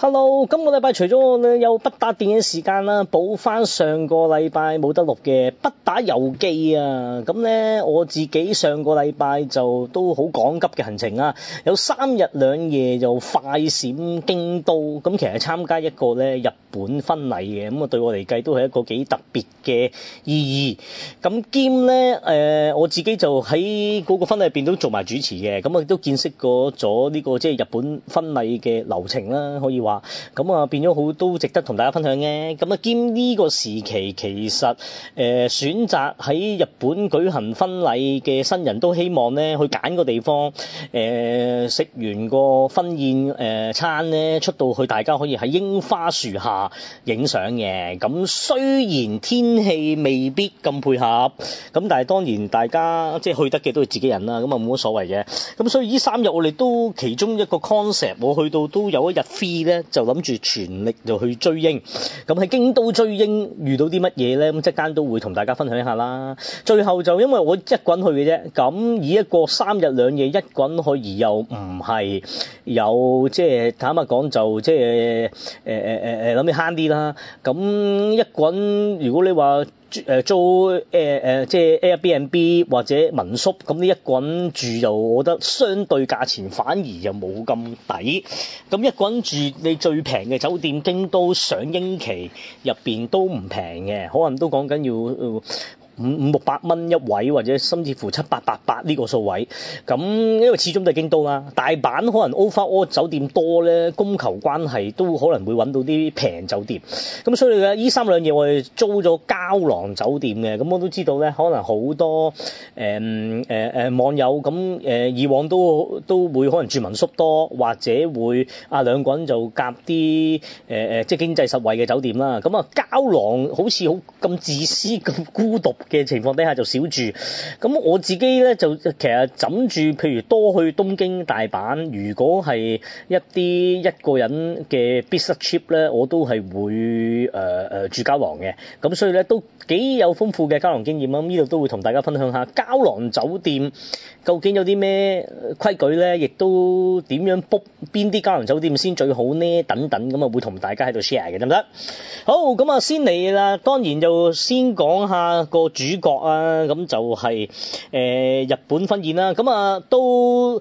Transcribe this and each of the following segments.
Hello，今個禮拜除咗我咧有不打電影時間啦，補翻上個禮拜冇得錄嘅不打遊記啊。咁咧我自己上個禮拜就都好趕急嘅行程啊，有3日2夜就快閃京都。咁其實參加一個咧日本婚禮嘅，咁啊對我嚟計都係一個幾特別嘅意義。咁兼咧我自己就喺嗰個婚禮入邊都做埋主持嘅，咁啊都見識過咗呢個即係日本婚禮嘅流程啦，可以話。咁啊變咗好都值得同大家分享嘅。咁啊兼呢個時期其實選擇喺日本舉行婚禮嘅新人都希望咧去揀個地方食完個婚宴餐咧出到去，大家可以喺櫻花樹下影相嘅。咁雖然天氣未必咁配合，咁但係當然大家即係去得嘅都係自己人啦，咁啊冇乜所謂嘅。咁所以呢3日我哋都其中一個 concept， 我去到都有一日 free 咧，就諗住全力就去追櫻。咁喺京都追櫻遇到啲乜嘢咧？咁即間都會同大家分享一下啦。最後就因為我一個人去嘅啫，咁以一個3日2夜一個人去，而又唔係有即係坦白講就即係諗住慳啲啦。咁一個人如果你話租即係 Airbnb 或者民宿，咁呢一個人住又我覺得相對價錢反而又冇咁抵。咁一個人住你最平嘅酒店京都賞櫻期入邊都唔平嘅，可能都講緊要500-600蚊一位，或者甚至乎700-800呢個數位。咁因為始終都係京都啦，大阪可能 overall 酒店多咧，供求關係都可能會揾到啲平酒店。咁所以咧，呢3兩夜我哋租咗膠囊酒店嘅。咁我都知道咧，可能好多網友咁以往都會可能住民宿多，或者會兩個人就夾啲即係經濟實惠嘅酒店啦。咁啊膠囊好似好咁自私咁孤獨嘅情況底下就少住。咁我自己咧就其實枕住譬如多去東京大阪，如果係一個人嘅 business trip 咧，我都係會住膠囊嘅。咁所以咧都幾有豐富嘅膠囊經驗啦。咁呢度都會同大家分享下膠囊酒店究竟有啲咩規矩咧，亦都點樣 book 邊啲膠囊酒店先最好呢？等等，咁啊會同大家喺度 share 嘅，得唔得？好，咁啊先嚟啦，當然就先講下個主角啊，咁就係日本婚宴啦。咁啊都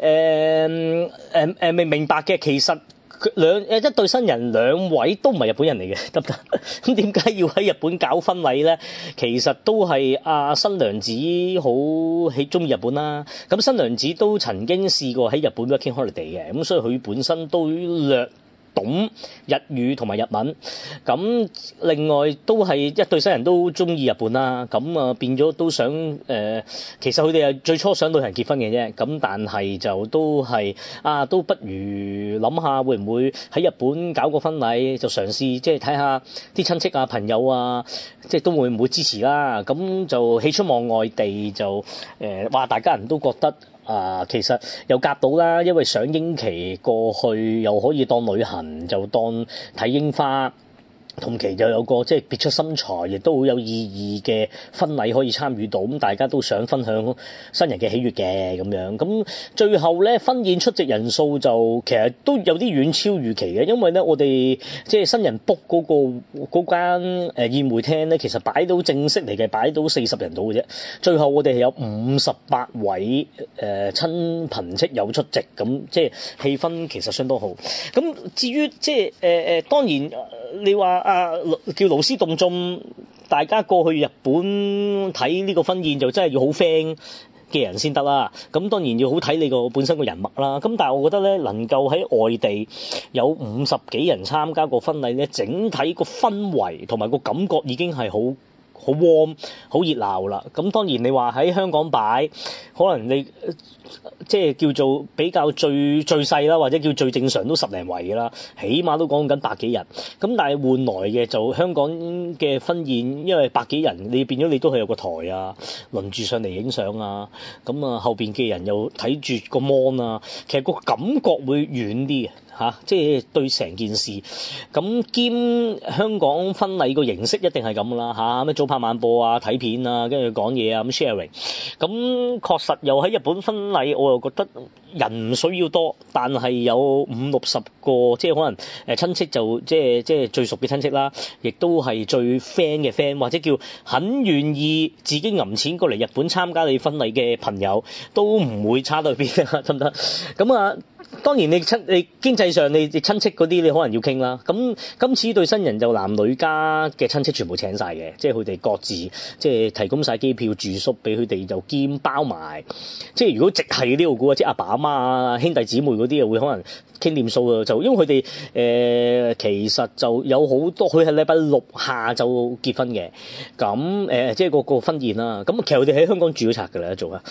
明白嘅，其實一對新人2位都唔係日本人嚟嘅，得唔得？咁點解要喺日本搞婚禮咧？其實都係新娘子好中意日本啦。咁新娘子都曾經試過喺日本 working holiday 嘅，咁所以佢本身都略懂日語同埋日文。咁另外都係一對新人都中意日本啦。咁啊變咗都想其實佢哋係最初想旅行結婚嘅啫。咁但係就都係都不如諗下會唔會喺日本搞個婚禮，就嘗試即係睇下啲親戚啊朋友啊，即係都會唔會支持啦。咁就喜出望外地就話大家人都覺得其實又夾到啦，因為賞櫻期過去又可以當旅行，就當睇櫻花。同期就有個即係別出心裁，亦都好有意義嘅婚禮可以參與到，咁大家都想分享新人嘅喜悅嘅咁樣。咁最後咧婚宴出席人數就其實都有啲遠超預期嘅，因為咧我哋即係新人 book 嗰間宴會廳咧，其實擺到正式嚟嘅擺到40人到嘅啫。最後我哋係有58位親朋戚友出席，咁即係氣氛其實相當好。咁至於即係當然你話叫勞師動眾，大家過去日本睇呢個婚宴就真係要好 friend 嘅人先得啦。咁當然要好睇你個本身個人脈啦。咁但係我覺得咧，能夠喺外地有50幾人參加個婚禮咧，整體個氛圍同埋個感覺已經係好 warm 好熱鬧啦。咁當然你話喺香港擺，可能你即係叫做比較最細啦，或者叫最正常都10零圍嘅啦，起碼都講緊百幾人。咁但係換來嘅就香港嘅婚宴，因為百幾人，你變咗你都係有個台啊，輪住上嚟影相啊，咁後邊嘅人又睇住個 mon 啊，其實個感覺會遠啲嘅。 即係對成件事。咁兼香港婚禮個形式一定係咁啦嚇，咩早拍晚播啊、睇片啊，跟住講嘢啊咁 sharing。咁確實又喺日本婚禮，我又覺得人唔需要多，但係有50-60個，即係可能親戚就即係最熟嘅親戚啦，亦都係最 friend 嘅 friend，或者叫很願意自己揞錢過嚟日本參加你婚禮嘅朋友，都唔會差到去邊啊，得唔得？咁啊，當然你經濟上你親戚嗰啲你可能要傾啦。咁今次對新人就男女家嘅親戚全部請晒嘅，即係佢哋各自即係提供晒機票住宿俾佢哋，就兼包埋。即係如果直係嗰啲我估啊，即係阿爸阿媽啊、兄弟姊妹嗰啲啊，會可能傾掂數啊。就因為佢哋其實就有好多，佢係禮拜六下晝結婚嘅。咁即係個婚宴啦。咁其實佢哋喺香港住咗拆㗎啦，做啊。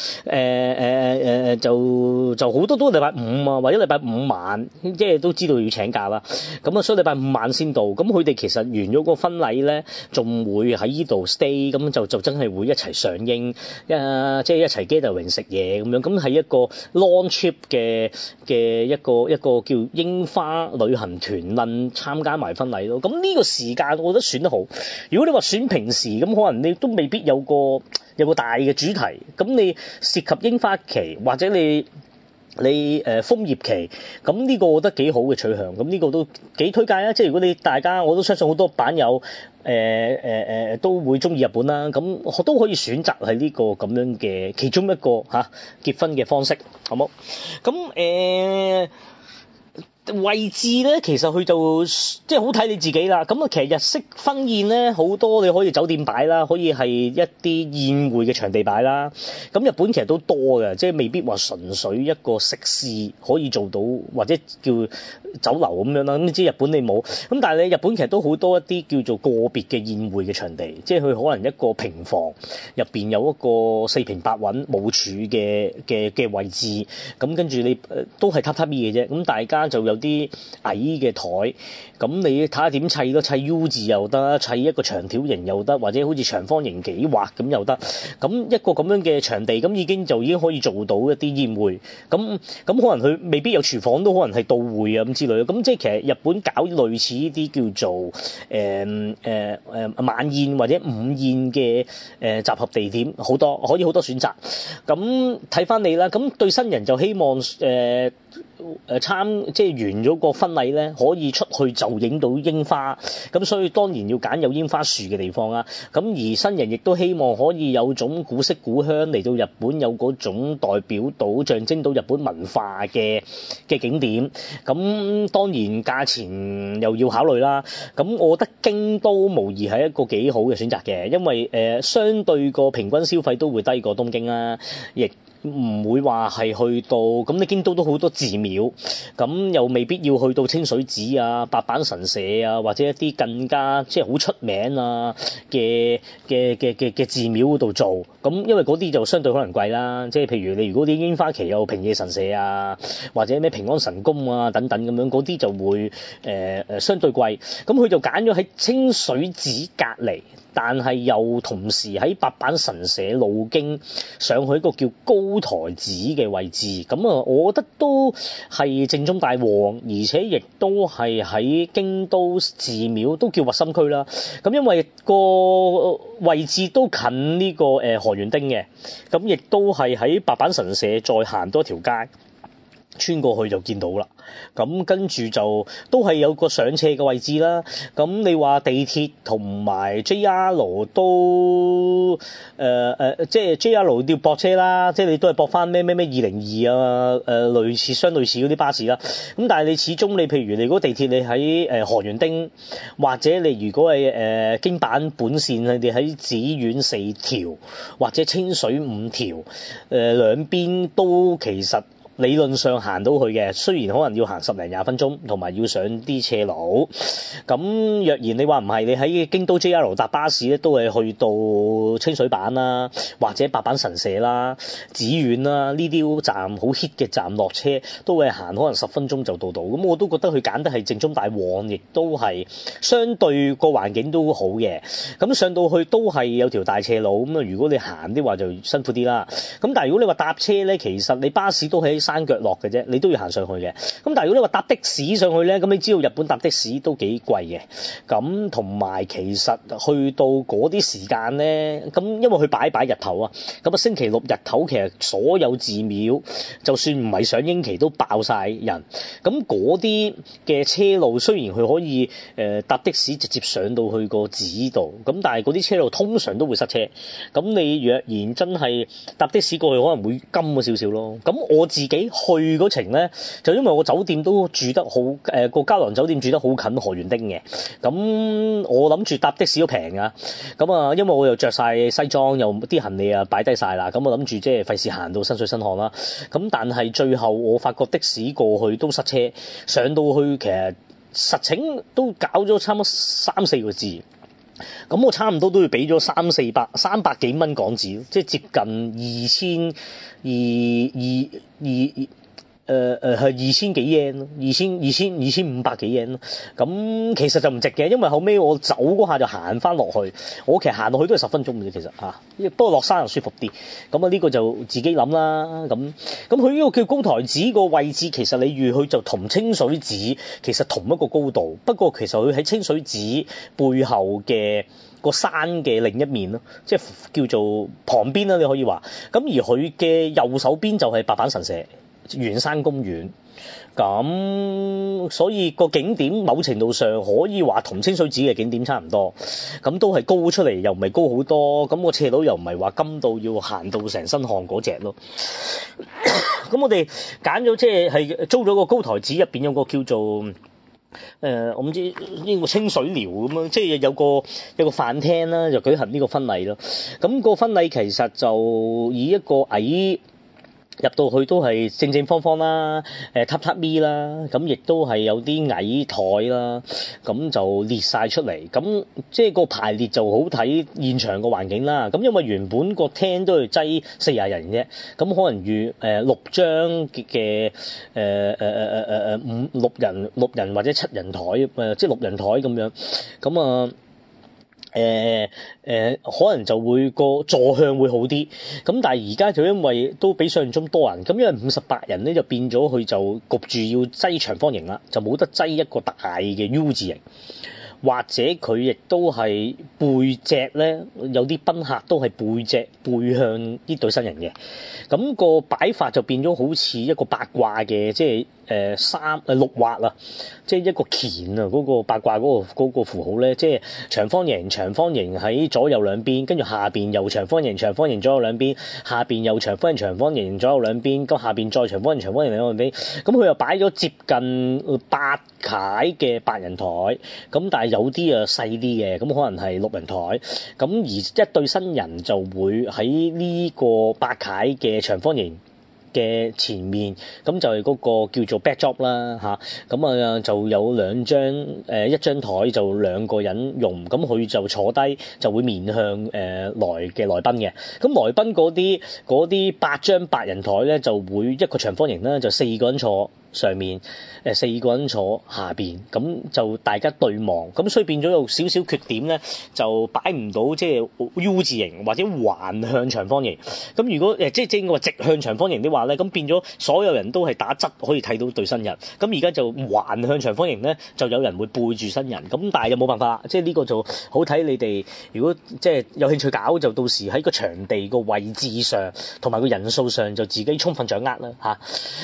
就好多都禮拜五啊，或者禮拜五晚，即係都知道要請假啦。咁啊，所以禮拜五晚先到。咁佢哋其實完咗個婚禮咧，仲會喺依度 stay，咁就真係會一齊上映，即係一齊 gathering 食嘢咁樣。咁係一個 long trip 嘅一個叫櫻花旅行團論參加埋婚禮咯。咁呢個時間我覺得選得好。如果你話選平時，咁可能你都未必有個大嘅主題。咁你涉及櫻花期或者你楓葉期，咁呢個我覺得幾好嘅取向，咁呢個都幾推介啊！即係如果你大家，我都相信好多版友都會中意日本啦，咁都可以選擇係呢個咁樣嘅其中一個結婚嘅方式，好冇？咁位置咧，其實佢就即係好睇你自己啦。咁啊，其實日式婚宴咧，好多你可以酒店擺啦，可以係一啲宴會嘅場地擺啦。咁日本其實都多嘅，即係未必話純粹一個食肆可以做到，或者叫酒樓咁樣啦。咁你知日本你冇，咁但係你日本其實都好多一啲叫做個別嘅宴會嘅場地，即係佢可能一個平房入邊有一個4平8穩冇柱嘅位置，咁跟住你都係榻榻米嘅啫。咁大家就有啲矮嘅台，咁你睇下點砌咯，砌 U 字又得，砌一個長條形又得，或者好似長方形幾畫咁又得。咁一個咁樣嘅場地，咁已經可以做到一啲宴會。咁可能佢未必有廚房，都可能係到會啊咁之類。咁即係其實日本搞類似呢啲叫做晚宴或者午宴嘅集合地點好多，可以好多選擇。咁睇翻你啦。咁對新人就希望即係完咗個婚禮咧，可以出去就影到櫻花，咁所以當然要揀有櫻花樹嘅地方啦。咁而新人亦都希望可以有種古色古香，嚟到日本有嗰種代表到象徵到日本文化嘅景點。咁當然價錢又要考慮啦。咁我覺得京都無疑係一個幾好嘅選擇嘅，因為相對個平均消費都會低過東京啦，亦唔會話係去到咁，你京都都好多寺廟，咁又未必要去到清水寺啊、八坂神社啊，或者一啲更加即係好出名啊嘅寺廟嗰度做。咁因為嗰啲就相對可能貴啦，即係譬如你如果啲櫻花期有平野神社啊，或者咩平安神宮啊等等咁樣，嗰啲就會相對貴。咁佢就揀咗喺清水寺隔離，但係又同時喺八坂神社路經上去一個叫高台寺嘅位置。咁啊，我覺得都係正宗大旺，而且亦都係喺京都寺廟都叫核心區啦。咁因為個位置都近呢個河原町嘅，咁亦都係喺八坂神社再行多條街，穿過去就見到啦。咁跟住就都係有個上斜嘅位置啦。咁你話地鐵同埋 JR 都即係 JR 要駁車啦，即係你都係駁翻咩202啊，相類似嗰啲巴士啦。咁但係你始終你譬如你如果地鐵你喺河原町，或者你如果係京阪本線你哋喺紫苑4條或者清水5條，兩邊都其實理論上行到去嘅，雖然可能要行10零20分鐘，同埋要上啲斜路。咁若然你話唔係，你喺京都 JR 搭巴士咧，都係去到清水板啦，或者八坂神社啦、紫苑啦，呢啲站好 hit 嘅站落車，都會行可能10分鐘就到。咁我都覺得佢揀得係正宗大旺，亦都係相對個環境都好嘅。咁上到去都係有條大斜路，咁啊如果你行啲話就辛苦啲啦。咁但係如果你話搭車咧，其實你巴士都喺山腳落嘅啫，你都要行上去嘅。咁但係如果你話搭的士上去咧，咁你知道日本搭的士都幾貴嘅。咁同埋其實去到嗰啲時間咧，咁因為佢擺日頭啊，咁啊星期六日頭其實所有寺廟就算唔係上櫻期都爆晒人。咁嗰啲嘅車路雖然佢可以搭的士直接上到去個寺度，咁但係嗰啲車路通常都會塞車。咁你若然真係搭的士過去，可能會金咗少少咯。咁我自己去嗰程咧，就因為我酒店都住得好個膠囊酒店住得好近河原町嘅，咁我諗住搭的士都平啊。咁啊，因為我又着晒西裝，又啲行李啊擺低晒啦，咁我諗住即係費事行到身水身汗啦。咁但係最後我發覺的士過去都塞車，上到去其實實情都搞咗差唔多3-4個字。咁我差唔多都要俾咗300幾蚊港紙，即係接近2000幾 yen 咯，2500幾 yen 咯。咁其實就唔值嘅，因為後尾我走嗰下就行翻落去，我其實行落去都係10分鐘嘅啫，其實嚇。不過落山又舒服啲。咁啊呢個就自己諗啦。咁佢呢個叫高台寺個位置，其實你預佢就同清水寺其實同一個高度，不過其實佢喺清水寺背後嘅個山嘅另一面咯，即係叫做旁邊啦，你可以話。咁而佢嘅右手邊就係白板神社、圓山公園。咁所以個景點某程度上可以話同清水寺嘅景點差唔多，咁都係高出嚟，又唔係高好多，咁個斜路又唔係話金到要行到成身汗嗰隻咯。咁我哋揀咗即係租咗個高台寺，入邊有個叫做我唔知呢個清水寮咁樣，即係有個飯廳啦，就舉行呢個婚禮咯。咁個婚禮其實就以一個矮入到去都係正正方方啦，榻咪啦，咁亦都係有啲矮台啦，咁就列晒出嚟，咁即係個排列就好睇現場個環境啦。咁因為原本個廳都係擠40人啫，咁可能預6張嘅六人或者7人台，即係6人台咁樣，咁啊。可能就會個座向會好啲，咁但係而家就因為都比想象中多人，咁因為58人咧就變咗佢就焗住要擠長方形啦，就冇得擠一個大嘅 U 字形，或者佢亦都係背脊咧，有啲賓客都係背向呢對新人嘅，咁個擺法就變咗好似一個八卦嘅，即係六畫啊，即係一個乾啊，嗰個八卦嗰個符號咧，即係長方形喺左右兩邊，跟住下邊又長方形左右兩邊，下邊又長方形左右兩邊，咁下邊再長方形兩邊，咁佢又擺咗接近8階嘅8人台，咁但係有啲啊細啲嘅，咁可能係6人台，咁而一對新人就會喺呢個8階嘅長方形嘅前面，咁就係嗰個叫做 backdrop 啦嚇，咁啊就有一張台就2個人用，咁佢就坐低就會面向來賓嘅，咁來賓嗰啲8張8人台咧就會一個長方形啦，就4個人坐上面，4個人坐下邊，咁就大家對望，咁所以變咗有少少缺點咧，就擺唔到即係 U 字形或者橫向長方形。咁如果即係正話直向長方形的話咧，咁變咗所有人都係打側可以睇到對新人。咁而家就橫向長方形咧，就有人會背住新人。咁但係又冇辦法，即係呢個就好睇你哋。如果即係有興趣搞，就到時喺個場地個位置上同埋個人數上就自己充分掌握啦嚇。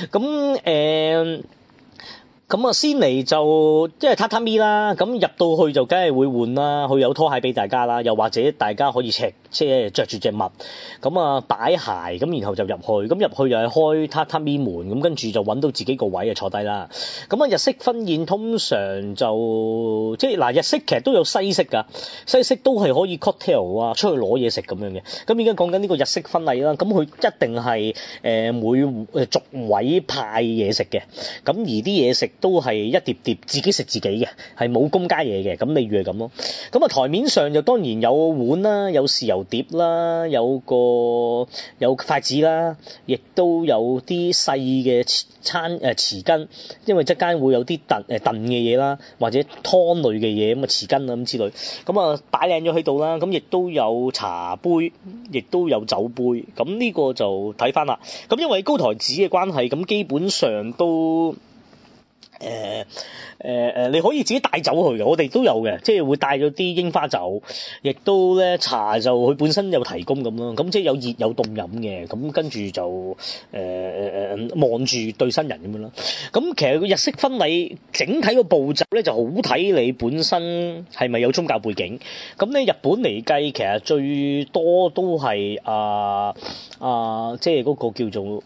咁啊，先嚟就即係榻榻米啦，咁入到去就梗係會換啦，佢有拖鞋俾大家啦，又或者大家可以即係著住隻襪，咁啊擺鞋，咁然後就入去，咁入去又係開榻榻米門，咁跟住就揾到自己個位啊坐低啦。咁啊日式婚宴通常就即係嗱日式其實都有西式㗎，西式都係可以 cocktail 啊，出去攞嘢食咁樣嘅。咁而家講緊呢個日式婚禮啦，咁佢一定係每逐位派嘢食嘅，咁而啲嘢食都係一碟碟自己食自己嘅，係冇公家嘢嘅，咁例如係咁咯。咁啊台面上就當然有碗啦，有豉油碟啦，有筷子啦，亦都有啲細嘅匙羹，因為側間會有啲燉嘅嘢啦，或者湯類嘅嘢咁啊匙羹啊咁之類，咁啊擺靚咗喺度啦，咁亦都有茶杯，亦都有酒杯，咁呢個就睇翻啦。咁因為高台子嘅關係，咁基本上都你可以自己帶酒去嘅，我哋都有嘅，即係會帶咗啲櫻花酒，亦都咧茶就佢本身有提供咁咯，咁即係有熱有凍飲嘅，咁跟住就望住對新人咁樣咯。咁其實個日式婚禮整體個步驟咧就好睇你本身係咪有宗教背景。咁咧日本嚟計，其實最多都係即係嗰個叫做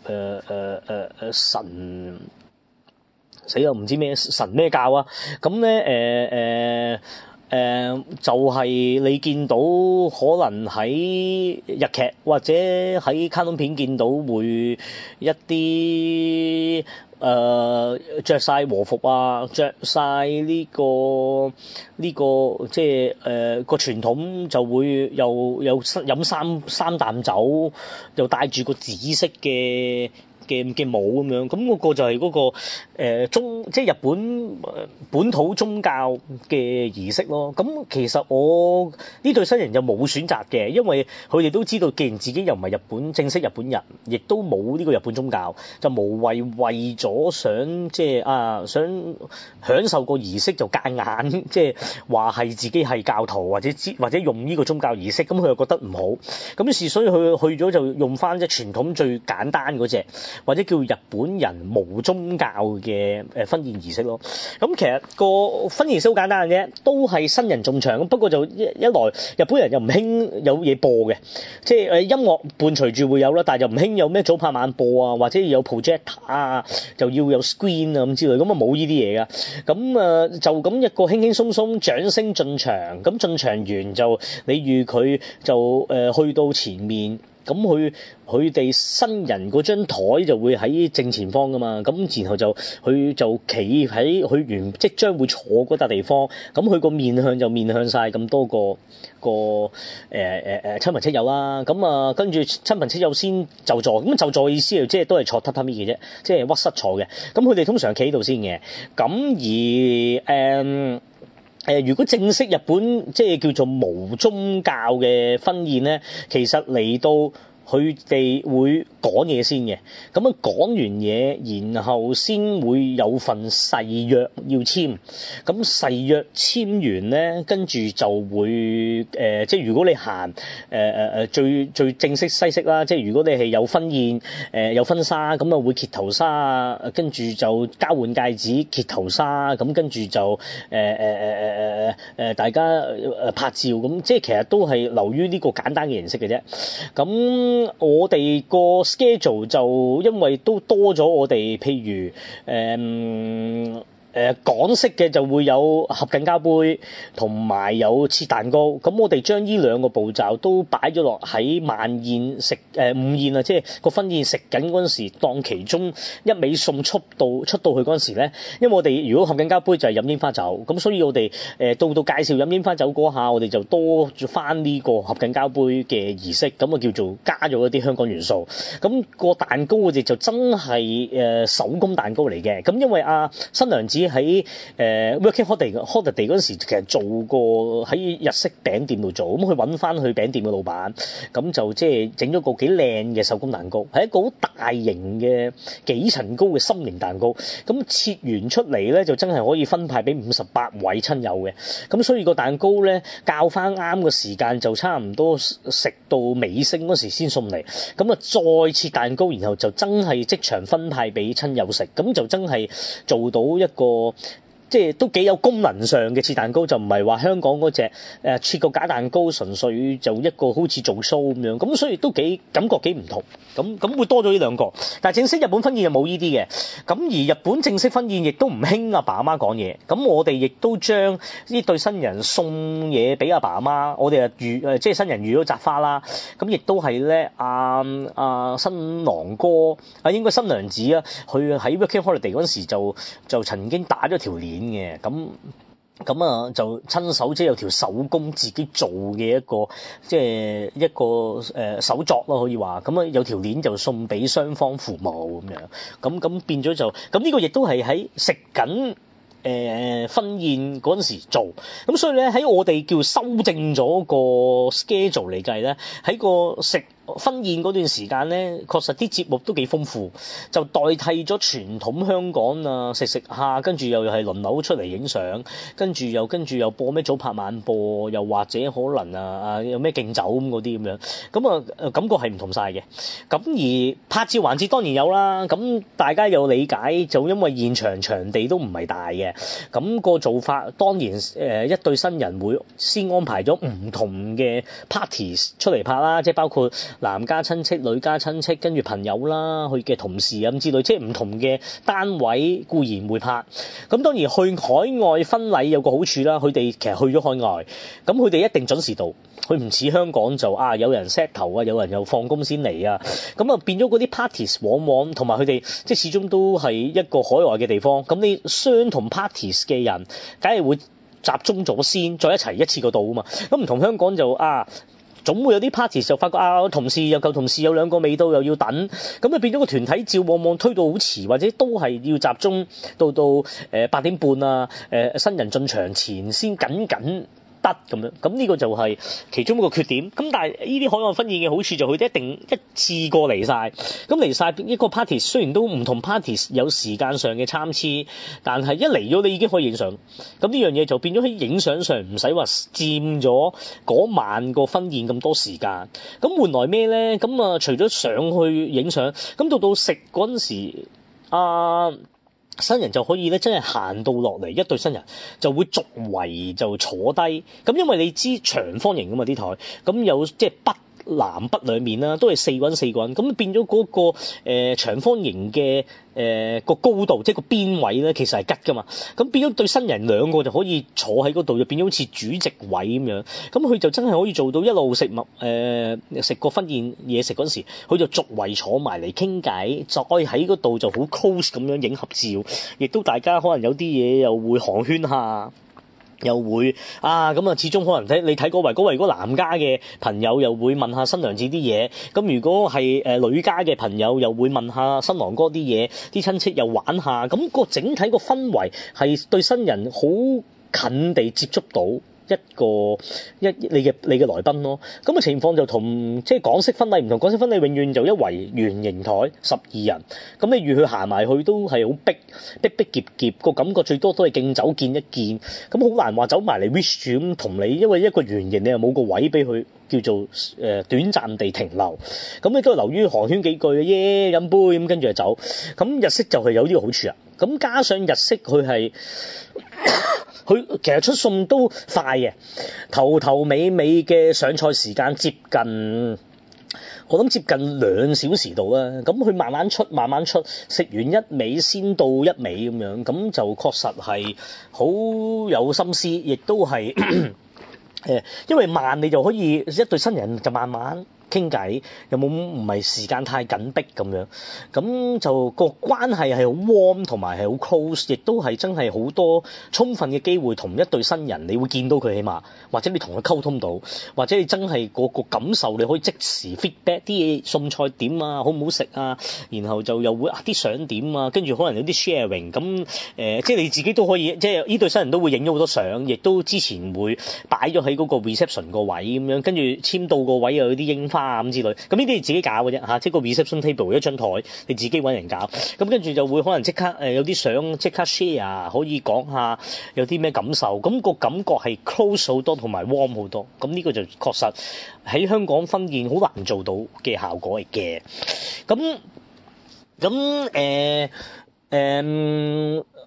神。死又唔知咩神咩教啊，咁咧就係你見到可能喺日劇或者喺卡通片見到會一啲着晒和服啊，着晒呢個即係個傳統就會又有飲三啖酒，又帶住個紫色嘅帽咁樣，咁嗰個就係嗰個即係日本本土宗教嘅儀式咯。咁其實我呢對新人就冇選擇嘅，因為佢哋都知道，既然自己又唔係正式日本人，亦都冇呢個日本宗教，就無謂為咗想即係想享受個儀式就夾硬即係話係自己係教徒或者用呢個宗教儀式，咁佢又覺得唔好，咁於是所以佢去咗就用翻即係傳統最簡單嗰隻。或者叫日本人無宗教嘅婚宴儀式咯。咁其實個婚宴儀式好簡單嘅啫，都係新人進場。不過就一來日本人又唔興有嘢播嘅，即係音樂伴隨住會有啦，但係就唔興有咩早拍晚播啊，或者有 projector 啊，就要有 screen 啊咁之類，咁啊冇呢啲嘢噶。咁就咁一個輕輕鬆鬆掌聲進場，咁進場完就你預佢就去到前面。咁佢哋新人嗰張台就會喺正前方噶嘛，咁然後佢就企喺佢即將會坐嗰笪地方，咁佢個面向就面向晒咁多個親朋戚友啦，咁跟住親朋戚友先就座，咁就座嘅意思即係都係坐榻榻米嘅啫，即係屈膝坐嘅，咁佢哋通常企喺度先嘅，咁而如果正式日本即係叫做無宗教嘅婚宴咧，其實嚟到佢哋會講嘢先嘅，咁樣講完嘢，然後先會有份誓約要簽，咁誓約簽完咧，跟住就會即係如果你行最正式西式啦，即係如果你係有婚宴有婚紗，咁啊會揭頭紗，跟住就交換戒指揭頭紗，咁跟住就大家拍照，咁即係其實都係流於呢個簡單嘅形式嘅啫，咁。我哋個 schedule 就因為都多咗我哋，譬如港式嘅就會有合巹交杯同埋有切蛋糕，咁我哋將呢兩個步驟都擺咗落喺晚宴午宴啊，即係個婚宴食緊嗰陣時，當其中一味餸出到去嗰陣時咧，因為我哋如果合巹交杯就係飲櫻花酒，咁所以我哋到介紹飲櫻花酒嗰下，我哋就多咗翻呢個合巹交杯嘅儀式，咁啊叫做加咗一啲香港元素。咁個蛋糕我哋就真係手工蛋糕嚟嘅，咁因為新娘子喺working holiday 嗰陣時，其實做過喺日式餅店度做，咁佢揾翻去餅店嘅老闆，咁就即係整咗個幾靚嘅手工蛋糕，係一個好大型嘅幾層高嘅心形蛋糕，咁切完出嚟咧就真係可以分派俾58位親友嘅，咁所以個蛋糕咧校翻啱個時間就差唔多食到尾聲嗰時先送嚟，咁啊再切蛋糕，然後就真係即場分派俾親友食，咁就真係做到一個即即係都幾有功能上嘅切蛋糕，就唔係話香港嗰隻切個假蛋糕，純粹就一個好似做 show 咁樣，咁所以都感覺幾唔同，咁會多咗呢兩個。但係正式日本婚宴就冇呢啲嘅，咁而日本正式婚宴亦都唔興阿爸阿媽講嘢，咁我哋亦都將呢對新人送嘢俾阿爸阿媽，我哋即係新人預咗紮花啦，咁亦都係咧新郎哥應該新娘子啊，佢喺 working holiday 嗰陣時就曾經打咗條鏈嘅，咁就親手即係有條手工自己做嘅即係一個手作咯，可以話咁有條鏈就送俾雙方父母咁樣，咁變咗就咁呢個亦都係喺食緊婚宴嗰陣時做，咁所以咧喺我哋叫修正咗個 schedule 嚟計咧，喺個食婚宴嗰段時間咧，確實啲節目都幾豐富，就代替咗傳統香港食下，跟住又係輪流出嚟影相，跟住又播咩早拍晚播，又或者可能有咩敬酒咁嗰啲咁樣，咁感覺係唔同晒嘅。咁而拍照環節當然有啦，咁大家有理解，就因為現場場地都唔係大嘅，咁個做法當然一對新人會先安排咗唔同嘅 parties 出嚟拍啦，即係包括男家親戚、女家親戚，跟住朋友啦、佢嘅同事咁之類，即係唔同嘅單位固然會拍。咁當然去海外婚禮有個好處啦，佢哋其實去咗海外，咁佢哋一定準時到，佢唔似香港就有人 set 頭啊，有人又放工先嚟啊，咁變咗嗰啲 parties 往往同埋佢哋即係始終都係一個海外嘅地方，咁你相同 parties 嘅人，梗係會集中咗先，再一齊一次過到啊嘛。咁唔同香港就總會有啲 party 就發覺同事有舊同事有兩個未到又要等，咁變咗個團體照往往推到好遲，或者都係要集中到8點半新人進場前先緊得咁樣，咁呢個就係其中一個缺點。咁但係呢啲海外婚宴嘅好處就佢哋一定一次過嚟晒，咁嚟晒一個 party 雖然都唔同 party 有時間上嘅參差，但係一嚟咗你已經可以影相，咁呢樣嘢就變咗喺影相上唔使話佔咗嗰晚個婚宴咁多時間。咁換來咩咧？咁除咗上去影相，咁到食嗰陣時新人就可以咧，真係行到落嚟，一對新人就會逐圍就坐低。咁因為你知長方形㗎嘛啲台，咁有即係南北兩面啦，都係4個人4個人，咁變咗嗰個長方形嘅個高度，即係個邊位咧，其實係吉㗎嘛。咁變咗對新人兩個就可以坐喺嗰度，就變咗好似主席位咁樣。咁佢就真係可以做到一路食個婚宴嘢食嗰陣時，佢就逐圍坐埋嚟傾偈，再喺嗰度就好 close 咁樣影合照，亦都大家可能有啲嘢又會寒暄下。又會始終可能你睇嗰圍如果男家嘅朋友又會問下新娘子啲嘢，咁如果係女家嘅朋友又會問下新郎哥啲嘢，啲親戚又玩下，咁個整體個氛圍係對新人好近地接觸到你嘅來賓咯。咁嘅情況就同即係港式婚禮唔同，港式婚禮永遠就一圍圓形台12人，咁你預佢行埋去都係好逼夾，個感覺最多都係敬酒見一見，咁好難話走埋嚟 wish 住咁同你，因為一個圓形你又冇個位俾佢叫做短暫地停留，咁你都係留於寒暄幾句飲杯咁跟住就走。咁日式就係有呢個好處啊，咁加上日式佢其實出餸都快嘅，頭尾嘅上菜時間接近2小時度啦。咁佢慢慢出，食完一味先到一味咁樣，咁就確實係好有心思，亦都係因為慢你就可以一對新人就慢慢傾偈，有冇唔係時間太緊迫咁樣，咁就個關係係好 warm 同埋係好 close， 亦都係真係好多充分嘅機會同一對新人，你會見到佢起碼，或者你同佢溝通到，或者你真係個感受你可以即時 feedback 啲嘢餸菜點好唔好食啊，然後就又會啲相點跟住可能有啲 sharing， 咁即係你自己都可以，即係呢對新人都會影咗好多相，亦都之前會擺咗喺嗰個 reception 個位咁樣，跟住簽到個位又有啲櫻花咁之類，咁呢啲你自己搞嘅啫，即係個 reception table 一張台，你自己揾人搞，咁跟住就會可能即刻有啲相即刻 share， 可以講下有啲咩感受，咁個感覺係 close 好多同埋 warm 好多，咁呢個就確實喺香港婚宴好難做到嘅效果嚟嘅。咁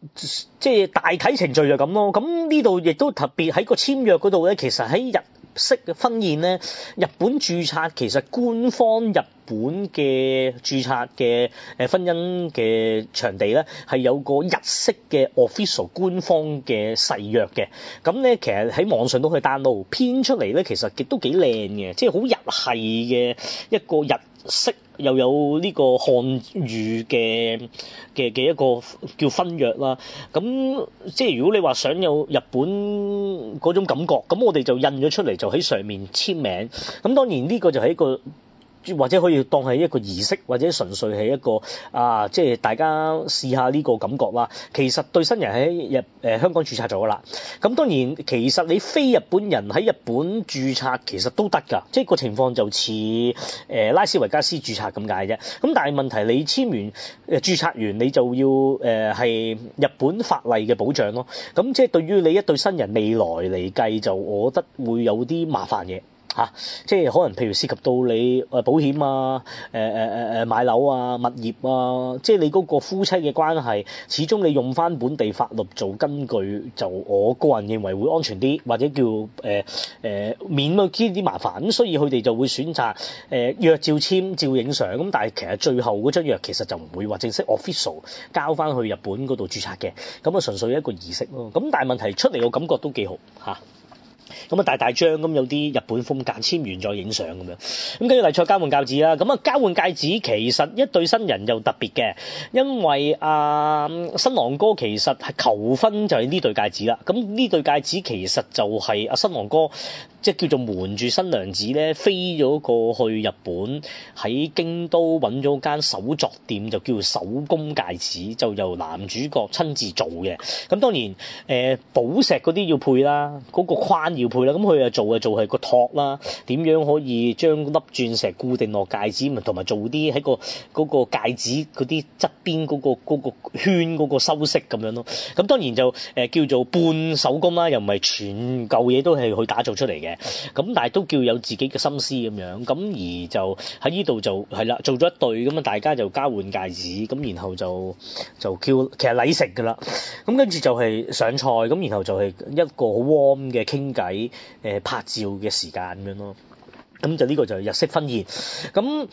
即係大體程序就咁咯。咁呢度亦都特別喺個簽約嗰度咧，其實喺日式嘅婚宴咧，日本註冊其實官方日本嘅註冊嘅婚姻嘅場地咧，係有個日式嘅 official 官方嘅誓約嘅。咁咧其實喺網上都可以 download 編出嚟咧，其實亦都幾靚嘅，即係好日系嘅一個日式又有呢個漢語嘅一個叫婚約啦。咁即係如果你話想有日本嗰種感覺，咁我哋就印咗出嚟，就喺上面簽名。咁當然呢個就係一個，或者可以當係一個儀式，或者純粹係一個即係大家試下呢個感覺啦。其實對新人喺香港註冊咗㗎啦。咁當然其實你非日本人喺日本註冊其實都得㗎，即係個情況就似拉斯維加斯註冊咁解啫。咁但係問題你簽完註冊完你就要係日本法例嘅保障咯。咁即係對於你一對新人未來嚟計，就我覺得會有啲麻煩嘅。即係可能譬如涉及到你保險啊、買樓啊、物業啊，即係你嗰個夫妻嘅關係，始終你用翻本地法律做根據，就我個人認為會安全啲，或者叫免咗呢啲麻煩。咁所以佢哋就會選擇約照簽照影相。咁但係其實最後嗰張約其實就唔會話正式 official 交翻去日本嗰度註冊嘅，咁啊純粹一個儀式咯。咁但係問題出嚟個感覺都幾好嚇。咁啊大張咁有啲日本風格，簽完再影相咁樣。咁跟住嚟再交換戒指啦。咁啊交換戒指其實一對新人又特別嘅，因為新郎哥其實係求婚就係呢對戒指啦。咁呢對戒指其實就係新郎哥即係叫做瞞住新娘子咧，飛咗過去日本，喺京都揾咗間手作店，就叫做手工戒指，就由男主角親自做嘅。咁當然寶石嗰啲要配啦，嗰個框要配啦。咁佢又做係個托啦，點樣可以將粒鑽石固定落戒指，同埋做啲喺嗰個戒指嗰啲側邊嗰個圈嗰個修飾咁樣咯。咁當然就叫做半手工啦，又唔係全嚿嘢都係去打造出嚟嘅。咁但係都叫有自己嘅心思咁樣。咁而就喺呢度就係啦，做咗一對咁啊，大家就交換戒指，咁然後就叫其實禮成㗎啦。咁跟住就係上菜，咁然後就係一個好 warm 嘅傾偈。拍照嘅時間咁樣咯，咁就呢個就係日式婚宴。咁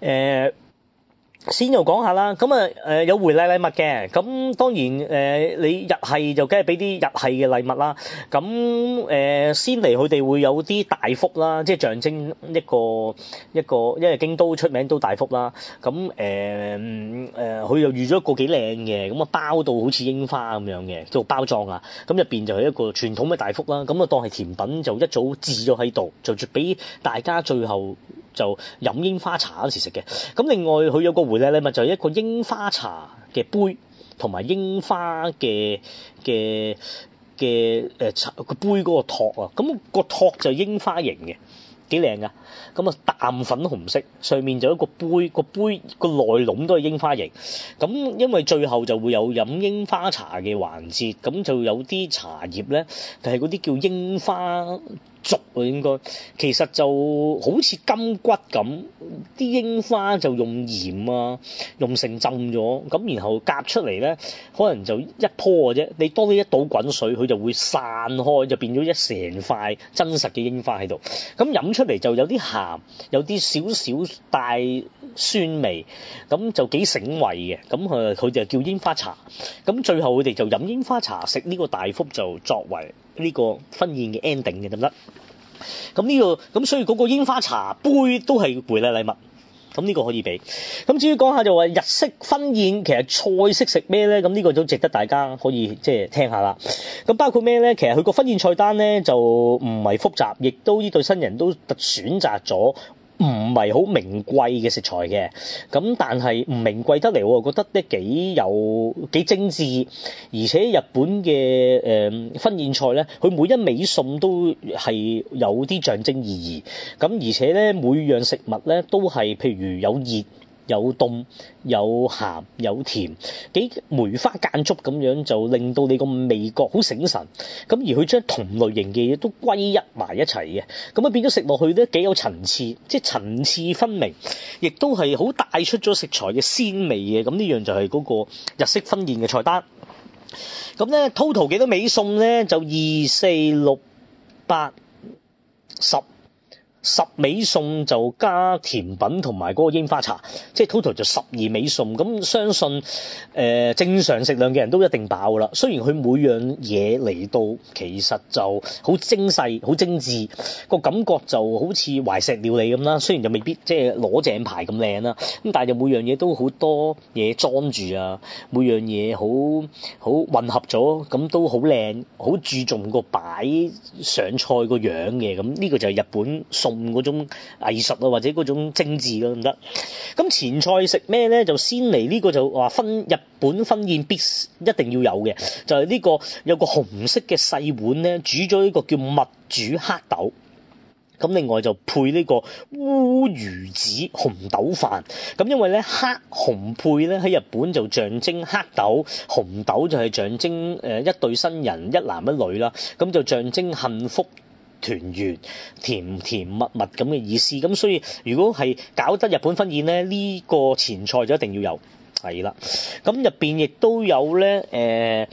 先又講下啦，咁有回禮物嘅，咁當然你日系就梗係俾啲日系嘅禮物啦。咁先嚟佢哋會有啲大福啦，即係象徵一個，因為京都出名都大福啦。咁佢又預咗一個幾靚嘅，咁啊包到好似櫻花咁樣嘅做包裝啊。咁入邊就係一個傳統嘅大福啦。咁啊當係甜品就一早置咗喺度，就俾大家最後就飲櫻花茶嗰時食嘅。咁另外佢有個回禮禮物就係一個櫻花茶嘅杯，同埋櫻花嘅個杯嗰個托啊。咁個托就櫻花形嘅，幾靚噶。咁啊淡粉紅色，上面就有一個杯，個杯個內籠都係櫻花形。咁因為最後就會有飲櫻花茶嘅環節，咁就有啲茶葉咧，就係嗰啲叫櫻花竹啊，應該其實就好似金骨咁，啲櫻花就用鹽啊，用成浸咗，咁然後夾出嚟咧，可能就一樖嘅啫。你當你一倒滾水，佢就會散開，就變咗一成塊真實嘅櫻花喺度。咁飲出嚟就有啲鹹，有啲少少帶酸味，咁就幾醒胃嘅。咁佢就叫櫻花茶。咁最後佢哋就飲櫻花茶，食呢個大福，就作為呢個婚宴嘅 ending 嘅，得唔得？咁所以嗰個櫻花茶杯都係回禮禮物。咁呢個可以俾。咁至於講下就話日式婚宴其實菜式食咩咧？咁呢個都值得大家可以即係聽下啦。咁包括咩咧？其實佢個婚宴菜單咧就唔係複雜，亦都呢對新人都選擇咗唔係好名貴嘅食材嘅。咁但係唔名貴得嚟，我覺得咧幾精緻，而且日本嘅婚宴菜咧，佢每一味餸都係有啲象徵意義。咁而且咧每樣食物咧都係譬如有熱有凍有鹹有甜，幾梅花間竹咁樣，就令到你個味覺好醒神。咁而佢將同類型嘅嘢都歸一埋一齊嘅，咁啊變咗食落去咧幾有層次，即係層次分明，亦都係好帶出咗食材嘅鮮味嘅。咁呢樣就係嗰個日式婚宴嘅菜單。 咁咧 total 幾多味餸咧？就2、4、6、8、10味餸就加甜品同埋嗰個櫻花茶，即係 total 就12味餸。咁相信正常食量嘅人都一定飽啦。雖然佢每樣嘢嚟到其實就好精細、好精緻，個感覺就好似懷石料理咁啦。雖然就未必即係攞正牌咁靚啦，咁但係就每樣嘢都好多嘢裝住啊，每樣嘢好混合咗，咁都好靚，好注重個擺上菜個樣嘅。咁呢個就係日本餸嗰種藝術啊，或者嗰種精緻咯，唔得。咁前菜食咩咧？就先嚟呢個就話日本婚宴必一定要有嘅，就係呢個有個紅色嘅細碗咧，煮咗呢個叫蜜煮黑豆。咁另外就配呢個烏魚子紅豆飯。咁因為咧黑紅配咧喺日本就象徵黑豆，紅豆就係象徵一對新人一男一女啦。咁就象徵幸福團圓、甜甜蜜蜜咁嘅意思。咁所以如果係搞得日本婚宴咧，呢個前菜就一定要有。係啦，咁入邊亦都有咧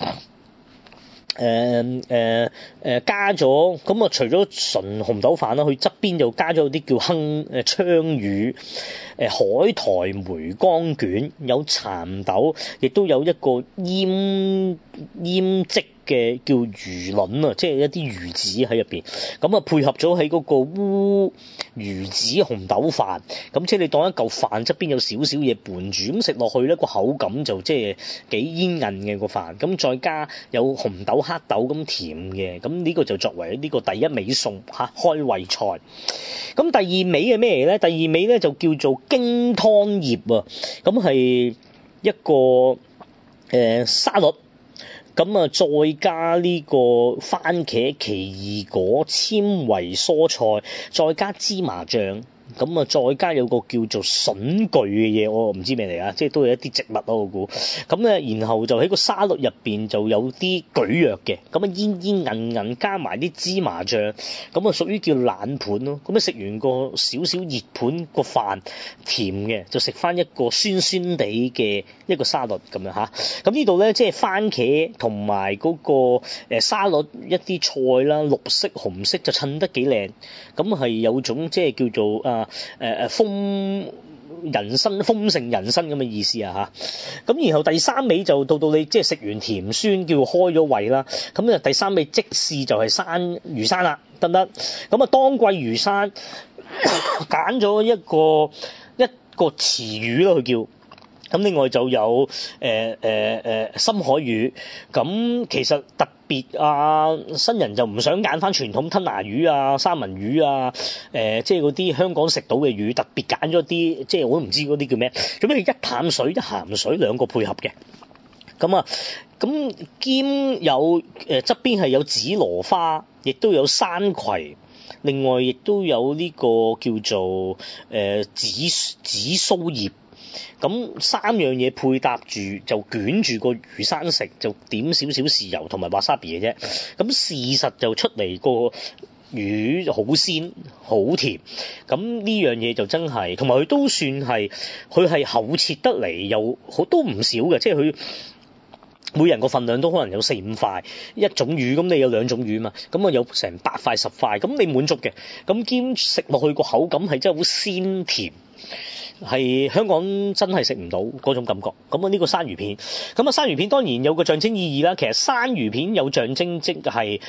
加咗咁啊！除咗純紅豆飯啦，佢側邊就加咗啲叫鯧魚、海苔梅乾卷，有蠶豆，亦都有一個醃漬嘅叫魚卵啊，即係一啲魚子喺入邊。咁啊配合咗喺嗰個烏魚子紅豆飯，咁即係你當一嚿飯側邊有少少嘢伴住，咁食落去咧個口感就即係幾煙韌嘅個飯。咁再加有紅豆黑豆咁甜嘅，咁呢個就作為呢個第一味餸嚇開胃菜。咁第二味係咩嚟咧？第二味咧就叫做京湯葉啊，咁係一個沙律。咁啊，再加呢個番茄、奇異果、纖維蔬菜，再加芝麻醬。咁啊，再加有個叫做筍具嘅嘢，我唔知咩嚟啊，即係都係一啲植物咯，我估。咁咧，然後就喺個沙律入邊就有啲蒟蒻嘅，咁啊煙煙韌韌，加埋啲芝麻醬，咁啊屬於叫冷盤咯。咁啊食完個少少熱盤個飯甜嘅，就食翻一個酸酸地嘅一個沙律咁樣嚇。咁呢度咧即係番茄同埋嗰個沙律一啲菜啦，綠色紅色就襯得幾靚。咁係有種即係叫做豐盛人生咁嘅意思啊嚇。咁然後第三味就到你即係食完甜酸叫開咗胃啦。咁啊第三味即試就係魚生啦，得唔得？咁啊當季魚生揀咗一個池魚咯，佢叫。咁另外就有深海魚。咁其實特別啊，新人就唔想揀翻傳統吞拿魚啊、三文魚啊，即係嗰啲香港食到嘅魚，特別揀咗啲即係我都唔知嗰啲叫咩，咁你一淡水一鹹水兩個配合嘅。咁兼有側邊係有紫羅花，亦都有山葵。另外亦都有呢個叫做紫蘇葉。咁三樣嘢配搭住就捲住個魚生食，就點少少豉油同埋 wasabi 嘅啫。咁事實就出嚟個魚好鮮好甜。咁呢樣嘢就真係，同埋佢都算係佢係厚切得嚟又都唔少嘅，即係佢每人個份量都可能有4-5塊一種魚，咁你有2種魚嘛，咁啊有成8塊10塊，咁你滿足嘅。咁兼食落去個口感係真係好鮮甜。係香港真係食唔到嗰種感覺。咁啊呢個生魚片，咁啊生魚片當然有個象徵意義啦。其實生魚片有象徵即係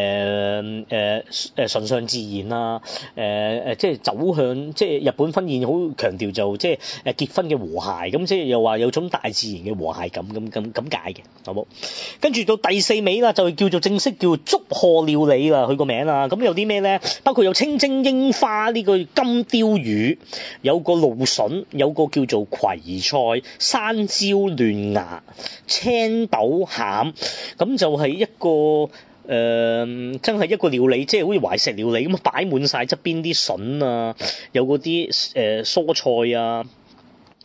崇尚自然啦，即係走向即係日本婚宴好強調就即係結婚嘅和諧，咁即係又話有種大自然嘅和諧感咁解嘅，好冇？跟住到第4味啦，就叫做正式叫祝賀料理啦，佢個名啦。咁有啲咩咧？包括有清蒸櫻花呢個金鯛魚，有個蘆筍，有個叫做葵菜、山椒嫩芽、青豆餡，咁就係一個真係一個料理，即係好似懷石料理咁擺滿晒側邊啲筍啊，有嗰啲蔬菜啊。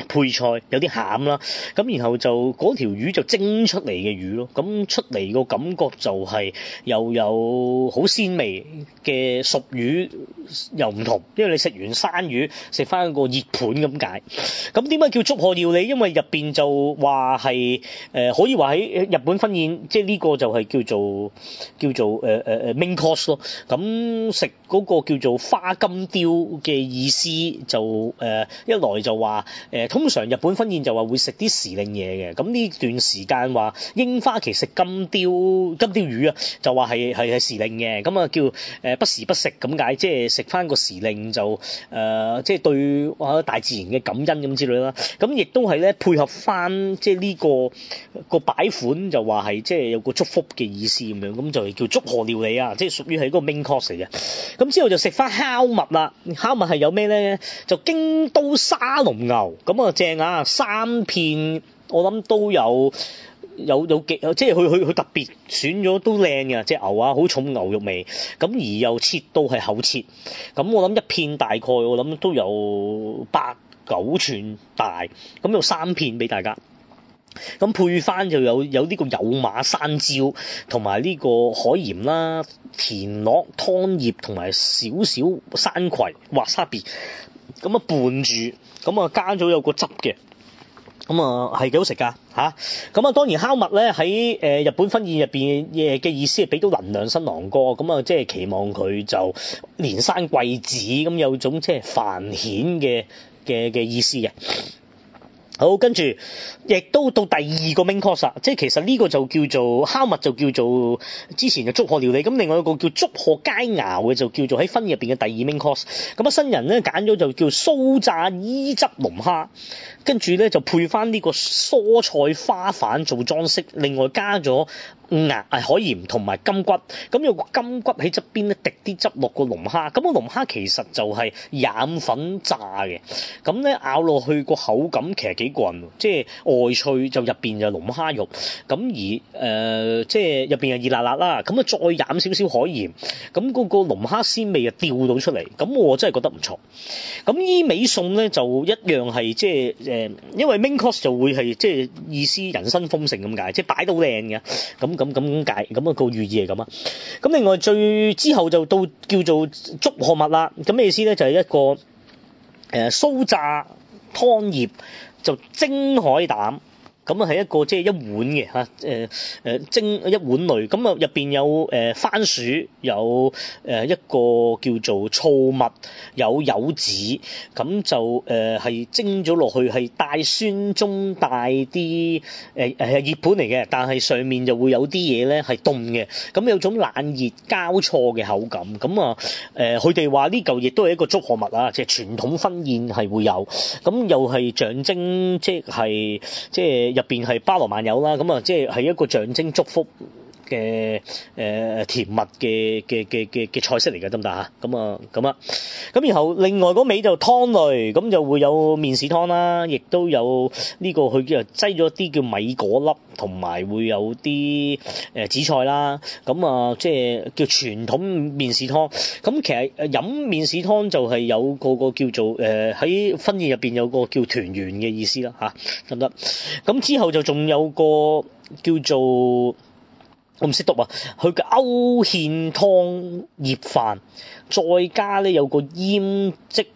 配菜有啲餡啦，咁然後就嗰條魚就蒸出嚟嘅魚咯，咁出嚟個感覺就係又有好鮮味嘅熟魚又唔同，因為你食完生魚食翻個熱盤咁解。咁點解叫祝賀料理？因為入邊就話係可以話喺日本婚宴，即係呢個就係叫做main course 咯。咁食嗰個叫做花金雕嘅意思就一來就話通常日本婚宴就話會食啲時令嘢嘅，咁呢段時間話櫻花期食金雕魚啊，就話係時令嘅，咁啊叫不時不食咁解，即係食翻個時令就即係對大自然嘅感恩咁之類啦。咁亦都係咧配合翻即係呢個擺款就話係即係有個祝福嘅意思咁樣，咁就係叫祝賀料理啊，即係屬於係嗰個 main course 嚟嘅。咁之後就食翻烤物啦，烤物係有咩咧？就京都沙龍牛，咁啊正啊，3片我諗都有幾，即係佢特別選咗都靚嘅隻牛啊，好重牛肉味，咁而又切到係厚切，咁我諗一片大概我諗都有8-9寸大，咁有3片俾大家。咁配翻就有呢個有馬山椒同埋呢個海鹽啦、田螺、湯葉同埋少少山葵、wasabi，咁啊拌住，咁啊加咗有個汁嘅。咁啊係幾好食㗎嚇！咁啊當然烤物咧喺日本婚宴入邊嘅意思係俾到能量新郎哥，咁啊即係期望佢就連生貴子，咁有種即係繁衍嘅意思嘅。好，跟住亦都到第二個 main course 啦，即係其實呢個就叫做烤物，就叫做之前嘅祝賀料理，咁另外一個叫祝賀佳肴嘅就叫做喺婚宴入邊嘅第二 main course。咁啊新人咧揀咗就叫酥炸伊汁龍蝦，跟住咧就配翻呢個蔬菜花瓣做裝飾，另外加咗海鹽同埋金骨，咁有個金骨喺側邊咧滴啲汁落個龍蝦，咁個龍蝦其實就係染粉炸嘅，咁咧咬落去個口感其實幾過癮，即係外脆就入邊就龍蝦肉，咁而即係入邊係熱辣辣啦，咁啊再染少少海鹽，咁嗰個龍蝦鮮味啊調到出嚟，咁我真係覺得唔錯。咁依味餸咧就一樣係即係因為 main course 就會係即係意思人生豐盛咁解，即係擺到靚嘅，咁解，咁啊個寓意係咁啊。咁另外最之後就到叫做祝賀物啦，咁咩意思咧？就係一個酥炸湯葉就蒸海膽。咁啊係一個即係一碗嘅嚇，蒸一碗類，咁啊入邊有番薯，有一個叫做醋蜜，有柚子，咁就係蒸咗落去，係帶酸中帶啲熱盤嚟嘅，但係上面就會有啲嘢咧係凍嘅，咁有種冷熱交錯嘅口感，咁啊佢哋話呢嚿亦都係一個祝賀物啊，即係傳統婚宴係會有，咁又係象徵即係入邊係包羅萬有啦，咁啊即係一個象徵祝福嘅甜蜜嘅菜式嚟嘅，得唔得嚇？咁然後另外嗰味就湯類，咁就會有麵豉湯啦，亦都有呢個佢就擠咗啲叫米果粒，同埋會有啲紫菜啦，咁啊即係叫傳統麵豉湯。咁其實飲麵豉湯就係有個叫做喺婚宴入邊有個叫團圓嘅意思啦嚇，得唔得？咁之後就仲有個叫做我唔識讀啊，佢嘅勾芡湯葉飯，再加咧有個醃漬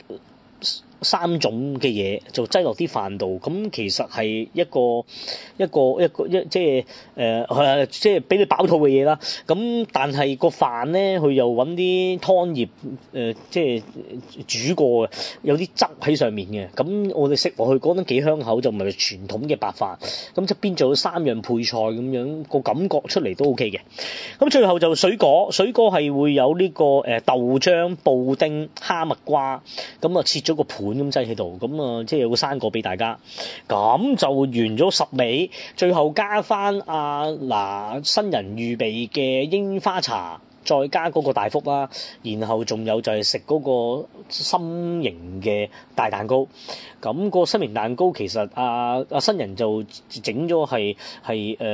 3種嘅嘢就擠落啲飯度，咁其實係一個即係即係俾你飽肚嘅嘢啦。咁但係個飯咧，佢又揾啲湯葉即係煮過嘅，有啲汁喺上面嘅。咁我哋食落去覺得幾香口，就唔係傳統嘅白飯。咁側邊仲有3樣配菜咁樣，個感覺出嚟都 OK 嘅。咁最後就水果係會有呢個豆漿、布丁、哈密瓜，咁啊切咗個盤咁擠喺度，咁啊即係有個生果俾大家，咁就完咗10味，最後加翻新人預備嘅櫻花茶，再加嗰個大福啦，然後仲有就係食嗰個心形嘅大蛋糕。咁個心形蛋糕其實新人就整咗係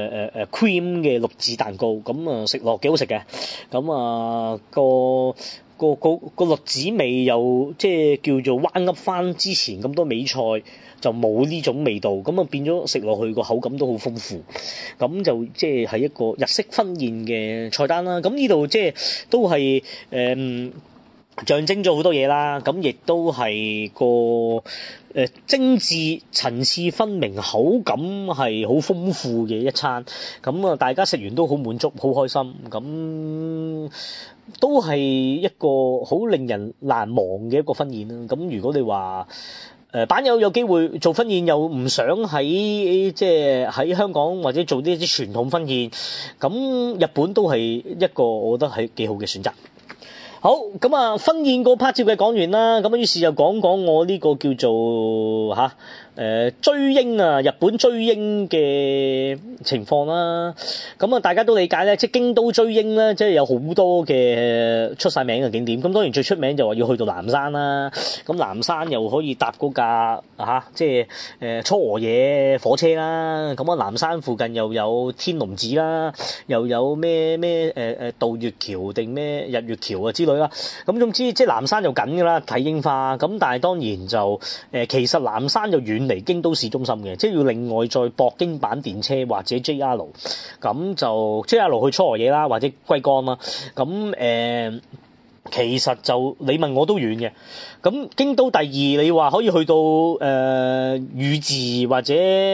cream 嘅綠字蛋糕，咁啊食落幾好食嘅。咁個個栗子味又即係叫做彎噏翻之前咁多美菜就冇呢種味道，咁啊變咗食落去個口感都好豐富，咁就即係一個日式婚宴嘅菜單啦。咁呢度即係都係象徵咗好多嘢啦，咁亦都係個精緻層次分明，口感係好豐富嘅一餐，咁啊大家食完都好滿足好開心，咁都係一個好令人難忘嘅一個婚宴啦。咁如果你話版友有機會做婚宴又唔想喺即係喺香港或者做呢啲傳統婚宴，咁日本都係一個我覺得係幾好嘅選擇。好，咁啊婚宴個 part 照嘅講完啦，咁於是就講我呢個叫做追櫻啊，日本追櫻嘅情況啦。咁啊大家都理解咧，即係京都追櫻咧，即係有好多嘅出晒名嘅景點。咁當然最出名就話要去到南山啦。咁南山又可以搭嗰架即係初河野火車啦。咁啊南山附近又有天龍寺啦，又有咩渡月橋定咩日月橋啊之類啦。咁總之即係南山就緊㗎啦，睇櫻花。咁但係當然就其實南山就遠離京都市中心嘅，即係要另外再駁京阪電車或者 JR， 咁就 JR 去初河野啦，或者龜岡啦。咁其實就你問我都遠嘅。咁京都第二，你話可以去到宇治或者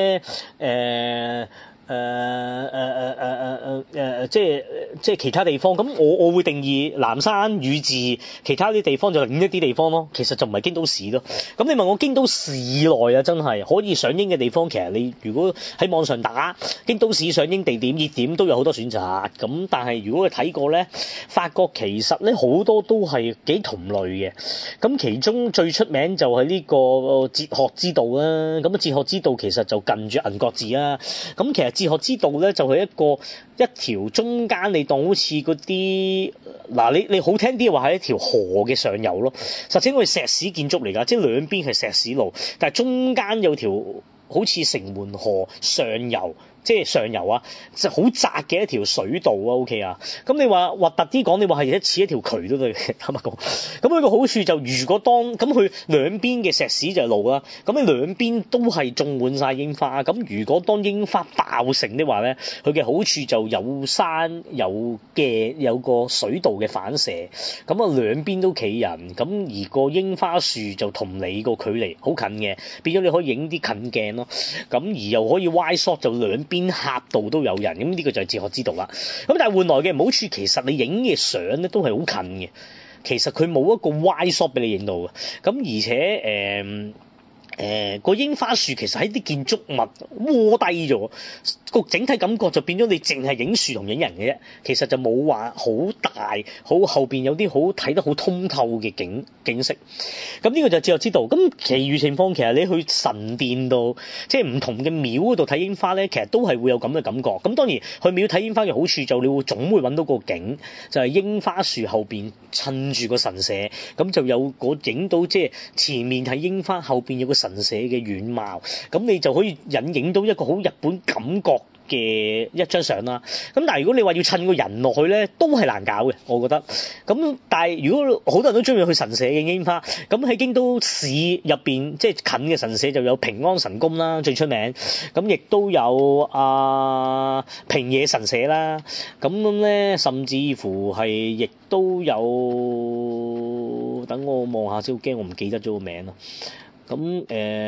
即係其他地方，咁我會定義南山、宇治，其他啲地方就另一啲地方咯。其實就唔係京都市咯。咁你問我京都市內啊，真係可以上櫻嘅地方，其實你如果喺網上打京都市上櫻地點熱點都有好多選擇。咁但係如果你睇過咧，發覺其實咧好多都係幾同類嘅。咁其中最出名就係呢個哲學之道啦。咁哲學之道其實就近住銀閣寺啦。咁其實哲學之道咧就係一條中間你當好似嗰啲你好聽啲話係一條河嘅上游咯，實際我係石屎建築嚟㗎，即係兩邊係石屎路，但係中間有條好似城門河上游，即係上游啊，就好窄嘅一條水道啊 ，OK 啊。咁你話核突啲講，你話係似一條渠都對，坦白講。咁佢個好處就如果當咁佢兩邊嘅石屎就係路啦，咁你兩邊都係種滿晒櫻花。咁如果當櫻花爆盛的話咧，佢嘅好處就有山有個水道嘅反射，咁啊兩邊都企人，咁而個櫻花樹就同你個距離好近嘅，變咗你可以影啲近鏡咯。咁而又可以 wide shot 就兩邊狹道都有人，咁呢個就係哲學之道啦。咁但係換來嘅唔好處，其實你影嘅相咧都係好近嘅，其實佢冇一個 wide shot 俾你影到嘅。咁而且個櫻花樹其實喺啲建築物窩低咗，個整體感覺就變咗你淨係影樹同影人嘅啫，其實就冇話好大好後邊有啲好睇得好通透嘅景色。咁呢個就哲學之道。咁其餘情況其實你去神殿度，即係唔同嘅廟嗰度睇櫻花咧，其實都係會有咁嘅感覺。咁當然去廟睇櫻花嘅好處就你總會揾到個景，就係櫻花樹後邊襯住個神社，咁就有個影到即係前面係櫻花，後邊有個神社嘅遠貌，咁你就可以影到一個好日本感覺嘅一張相啦。咁但係如果你話要襯個人落去咧，都係難搞嘅，我覺得。咁但係如果好多人都中意去神社嘅櫻花，咁喺京都市入邊即係近嘅神社就有平安神宮啦，最出名。咁亦都有平野神社啦。咁咧甚至乎係亦都有，等我望下先，好驚我唔記得咗個名咯。咁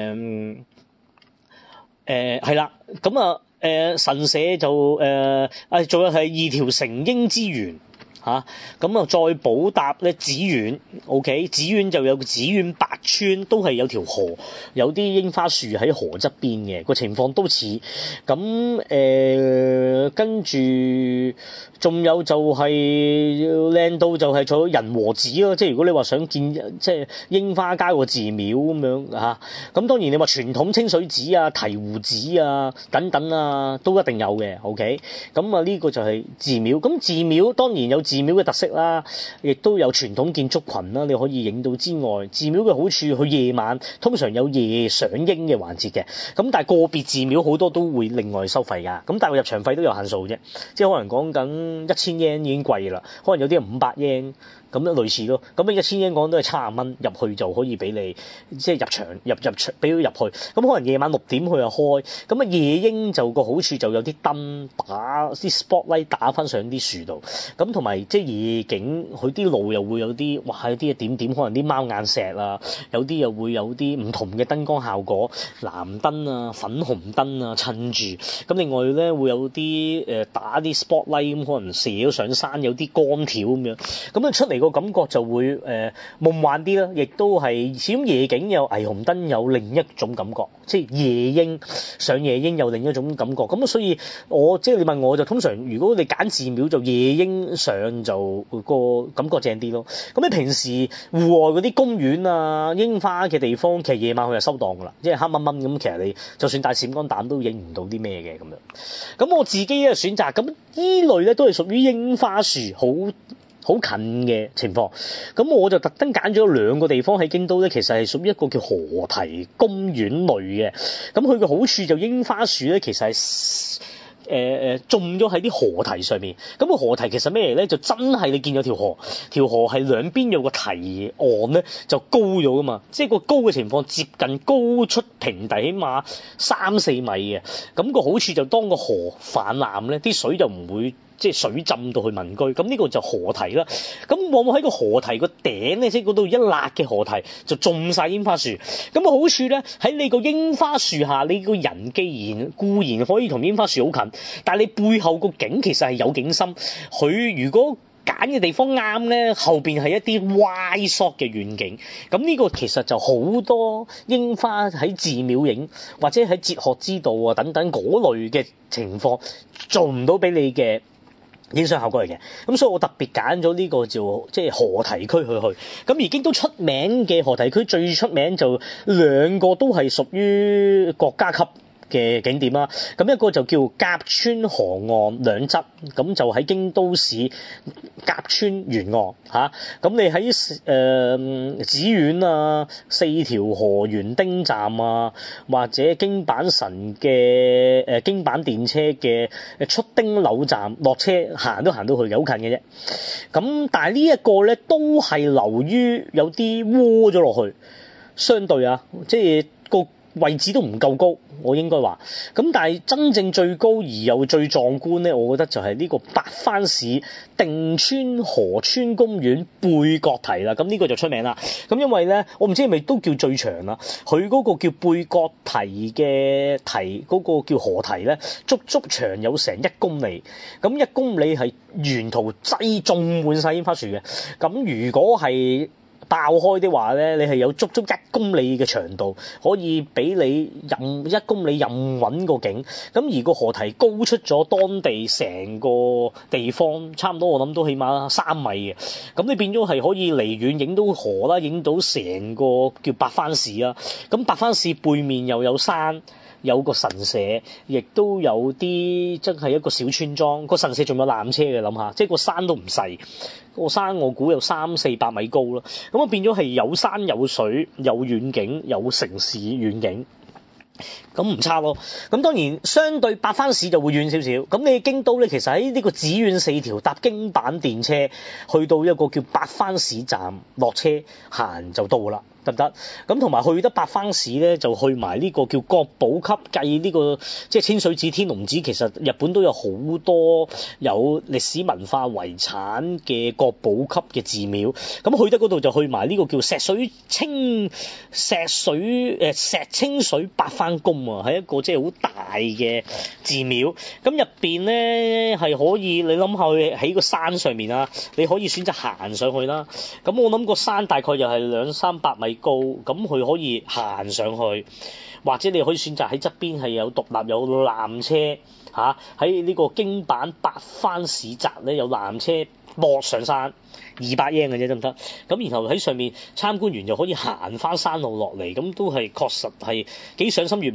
係啦，咁神社就仲有係二條成櫻之源嚇，咁再補搭咧紫苑 ，OK， 紫苑就有個紫苑白川，都係有條河，有啲櫻花樹喺河側邊嘅，個情況都似。咁跟住仲有就係靚到就係做仁和寺咯，即係如果你話想見即係櫻花加個寺廟咁樣嚇，咁當然你話傳統清水寺啊、醍醐寺啊等等啊都一定有嘅 ，OK，咁呢個就係寺廟。咁寺廟當然有寺寺廟嘅特色啦，亦都有傳統建築群啦，你可以影到之外，寺廟嘅好處，佢夜晚通常有夜賞櫻嘅環節嘅，咁但係個別寺廟好多都會另外收費㗎，咁但係入場費都有限數啫，即係可能講緊1000yen已經貴啦，可能有啲係500yen。咁樣類似咯，咁啊1000英鎊都係70蚊入去就可以俾你，即係入場俾佢入去。咁可能夜晚6點佢又開，咁啊夜櫻就個好處就有啲燈打啲 spotlight 打翻上啲樹度，咁同埋即係夜景，佢啲路又會有啲哇有啲點點，可能啲貓眼石啊，有啲又會有啲唔同嘅燈光效果，藍燈啊、粉紅燈啊襯住。咁另外咧會有啲打啲 spotlight 咁，可能射咗上山有啲光條咁樣，咁啊出嚟個感覺就會夢幻啲啦，亦都係始終夜景有霓虹燈有另一種感覺，即係夜櫻上夜櫻有另一種感覺。咁所以即係你問我就通常如果你揀寺廟就夜櫻上就個感覺正啲咯。咁你平時戶外嗰啲公園啊、櫻花嘅地方，其實夜晚佢就收檔㗎啦，即係黑掹掹咁，其實你就算帶閃光彈都影唔到啲咩嘅咁樣。咁我自己嘅選擇咁依類咧都係屬於櫻花樹好近嘅情況，咁我就特登揀咗2個地方喺京都咧，其實係屬於一個叫河堤公園類嘅。咁佢嘅好處就櫻花樹咧，其實係種咗喺啲河堤上面。咁個河堤其實咩嚟咧？就真係你見咗條河係兩邊有個堤岸咧，就高咗噶嘛。即係個高嘅情況接近高出平地，起碼3-4米嘅。咁個好處就當個河泛濫咧，啲水就唔會。即係水浸到去民居，咁呢個就河堤啦。咁往往喺個河堤個頂咧，即係嗰度一辣嘅河堤就種晒櫻花樹。咁個好處咧，喺你個櫻花樹下，你個人既然固然可以同櫻花樹好近，但係你背後個景其實係有景深。佢如果揀嘅地方啱咧，後邊係一啲 wide shot 嘅遠景。咁呢個其實就好多櫻花喺寺廟影，或者喺哲學之道啊等等嗰類嘅情況做唔到俾你嘅影相效果嚟嘅，咁所以我特別揀咗呢個就即係河堤區去。咁而京都出名嘅河堤區最出名就2個都係屬於國家級嘅景點啦。咁一個就叫甲川河岸兩側，咁就喺京都市甲川沿岸嚇。咁你喺寺院啊、4條河原町站啊，或者京阪神嘅京阪電車嘅出町柳站落車行都行到去嘅，好近嘅啫。咁但係呢一個咧都係流於有啲窩咗落去，相對啊，即係個位置都唔夠高，我應該話。咁但係真正最高而又最壯觀咧，我覺得就係呢個八幡市定川河川公園背角堤啦。咁呢個就出名啦。咁因為咧，我唔知係咪都叫最長啦。佢嗰個叫背角堤嘅堤，嗰個叫河堤咧，足長有成1公里。咁1公里係沿途種滿晒櫻花樹嘅。咁如果係爆開的話咧，你係有足1公里嘅長度，可以俾你1公里任揾個景。咁而個河堤高出咗當地成個地方，差唔多我諗都起碼3米嘅。咁你變咗係可以離遠影到河啦，影到成個叫八幡市啦。咁八幡市背面又有山。有個神社，亦都有啲真係一個小村莊。個神社仲有纜車嘅，諗下，即係個山都唔細。個山我估有300-400米高啦。咁啊變咗係有山有水有遠景有城市遠景。咁唔差咯。咁當然相對八幡市就會遠少少。咁你京都咧，其實喺呢個寺院4條搭京阪電車去到一個叫八幡市站落車行就到啦。得唔得？咁同埋去得八幡市咧，就去埋呢個叫國寶級計呢個，即係清水寺、天龍寺。其實日本都有好多有歷史文化遺產嘅國寶級嘅寺廟。咁去得嗰度就去埋呢個叫石清水八幡宮啊，係一個即係好大嘅寺廟。咁入邊咧係可以，你諗下去喺個山上面啊，你可以選擇行上去啦。咁我諗個山大概又係200-300米高，咁佢可以行上去，或者你可以選擇喺側邊係有獨立有纜車嚇，喺呢個京阪八幡市宅咧有纜車駁上山，200 yen 嘅啫，得唔得？咁然後喺上面參觀完就可以行翻山路落嚟，咁都係確實係幾賞心悅目。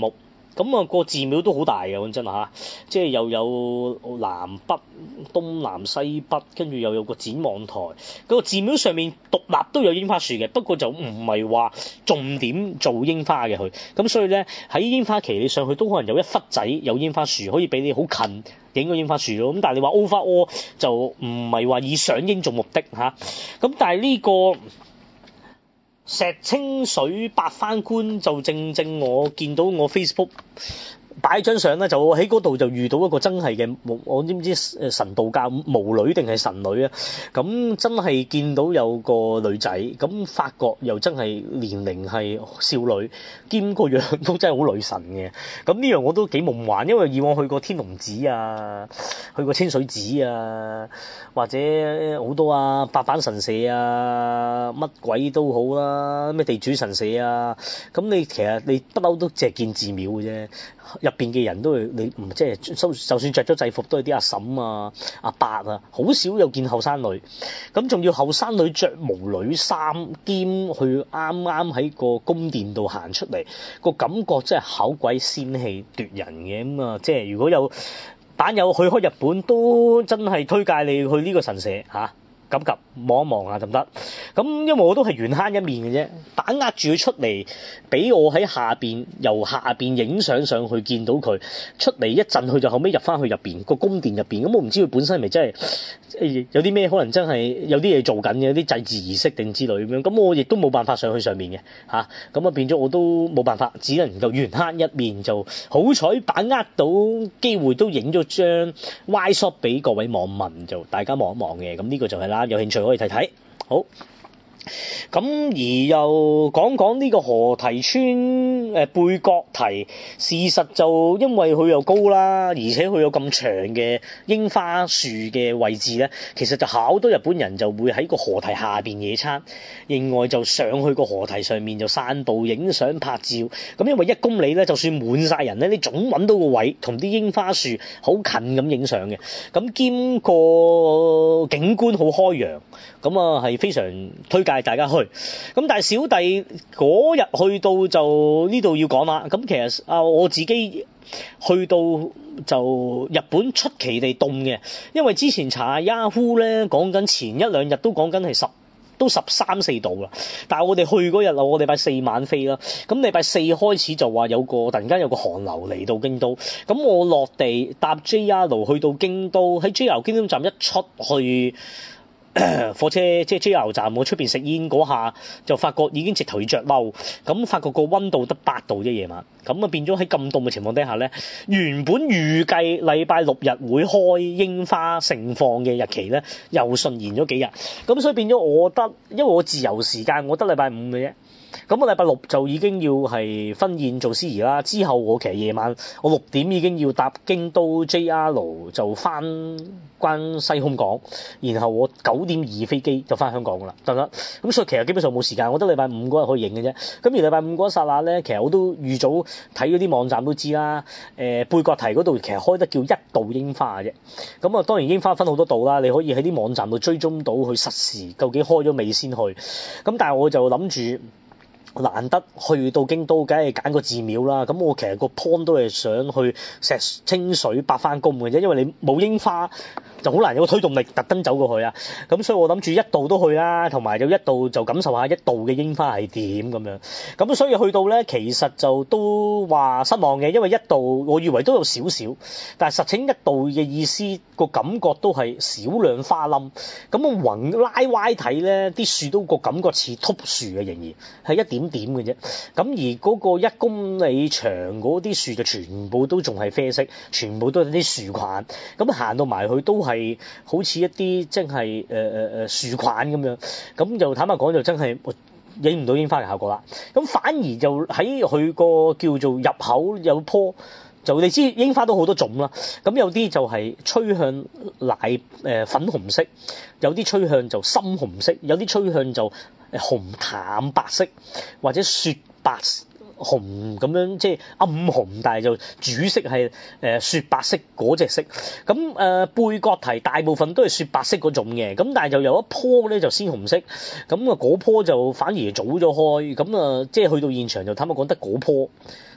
咁啊個寺廟都好大嘅，講真嚇，即係又有南北東南西北，跟住又有個展望台。個寺廟上面獨立都有櫻花樹嘅，不過就唔係話重點做櫻花嘅佢。咁所以咧喺櫻花期你上去都可能有一忽仔有櫻花樹，可以俾你好近影個櫻花樹咯。咁但係你話 overall 就唔係話以賞櫻做目的嚇。咁但係呢個石清水八幡宮就正我見到我 Facebook 擺張相咧，就喺嗰度就遇到一個真係嘅我知唔知神道教巫女定係神女啊？咁真係見到有個女仔，咁發覺又真係年齡係少女，兼個樣都真係好女神嘅。咁呢樣我都幾夢幻，因為以往去過天龍寺啊，去過清水寺啊，或者好多啊八幡神社啊，乜鬼都好啦，咩地主神社啊，咁你其實你不嬲都淨係見寺廟嘅啫。入邊嘅人都係你唔即係就算着咗制服都係啲阿嬸啊、阿伯啊，好少有見後生女。咁仲要後生女着巫女衫，兼去啱啱喺個宮殿度行出嚟，個感覺真係好鬼仙氣奪人嘅。咁啊，即係如果有版友去開日本，都真係推介你去呢個神社嚇。咁及望一望啊，得唔得？咁因為我都係緣慳一面嘅啫，把握住佢出嚟，俾我喺下邊由下邊影相上去見到佢出嚟一陣，佢就後尾入翻去入邊個宮殿入邊。咁我唔知佢本身係咪真係有啲咩可能真係有啲嘢做緊嘅，有啲祭祀儀式定之類咁樣。咁我亦都冇辦法上去上面嘅嚇，咁啊變咗我都冇辦法，只能夠緣慳一面，就好彩把握到機會都影咗張 Y shot 俾各位網民，就大家望一望嘅。咁呢個就係啦。有興趣可以睇睇，好。咁而又講呢個河堤村背角堤，事實就因為佢又高啦，而且佢有咁長嘅櫻花樹嘅位置咧，其實就好多日本人就會喺個河堤下邊野餐，另外就上去個河堤上面就散步影相拍照。咁因為1公里咧，就算滿晒人咧，你總揾到個位同啲櫻花樹好近咁影相嘅。咁兼個景觀好開揚，咁啊係非常推介大家去。咁但係小弟嗰日去到就呢度要講啦。咁其實我自己去到就日本出奇地凍嘅，因為之前查 Yahoo 咧講緊前一兩日都講緊係都13、14度啦。但係我哋去嗰日啊，我禮拜4晚飛啦。咁禮拜4開始就話突然間有個寒流嚟到京都。咁我落地搭 JR 去到京都，喺 JR 京都站一出去火車即係 JR 站，我出邊食煙嗰下就發覺已經直頭要着褸，咁發覺個溫度得8度啫夜晚，咁啊變咗喺咁凍嘅情況底下咧，原本預計禮拜6日會開櫻花盛放嘅日期咧，又順延咗幾日，咁所以變咗我得，因為我自由時間我得禮拜5嘅啫。咁我禮拜6就已經要係婚宴做司儀啦，之後我其實夜晚我6點已經要搭京都 JR 就翻關西空港，然後我9點2飛機就翻香港噶啦，得唔得？咁所以其實基本上冇時間，我得禮拜5嗰日可以影嘅啫。咁而禮拜5嗰一剎那咧，其實我都預早睇嗰啲網站都知啦。背角堤嗰度其實開得叫1度櫻花嘅啫。咁啊當然櫻花分好多度啦，你可以喺啲網站度追蹤到去實時究竟開咗未先去。咁但係我就諗住，難得去到京都，梗係揀個寺廟啦。咁我其實個 point 都係想去石清水八幡宮嘅啫，因為你冇櫻花就好難有個推動力特登走過去啊。咁所以我諗住1度都去啦，同埋有1度就感受下1度嘅櫻花係點咁樣。咁所以去到咧，其實就都話失望嘅，因為1度我以為都有少少，但係實情1度嘅意思個感覺都係少量花冧。咁我橫拉歪睇咧，啲樹都個感覺似禿樹嘅，仍然係一點嘅啫。咁而嗰個1公里長嗰啲樹就全部都仲係啡色，全部都係啲樹菌。咁行到埋去都係好似一啲即係樹菌咁樣。咁就坦白講就真係影唔到櫻花嘅效果啦。咁反而就喺佢個叫做入口有棵，就你知櫻花都好多種啦。咁有啲就係趨向粉紅色，有啲趨向就深紅色，有啲趨向就紅淡白色或者雪白紅咁樣，即係暗紅，但係就主色係雪白色嗰隻色。咁背角堤大部分都係雪白色嗰種嘅，咁但係就有一棵咧就鮮紅色，咁啊嗰棵就反而早咗開，咁啊即係去到現場就坦白講得嗰棵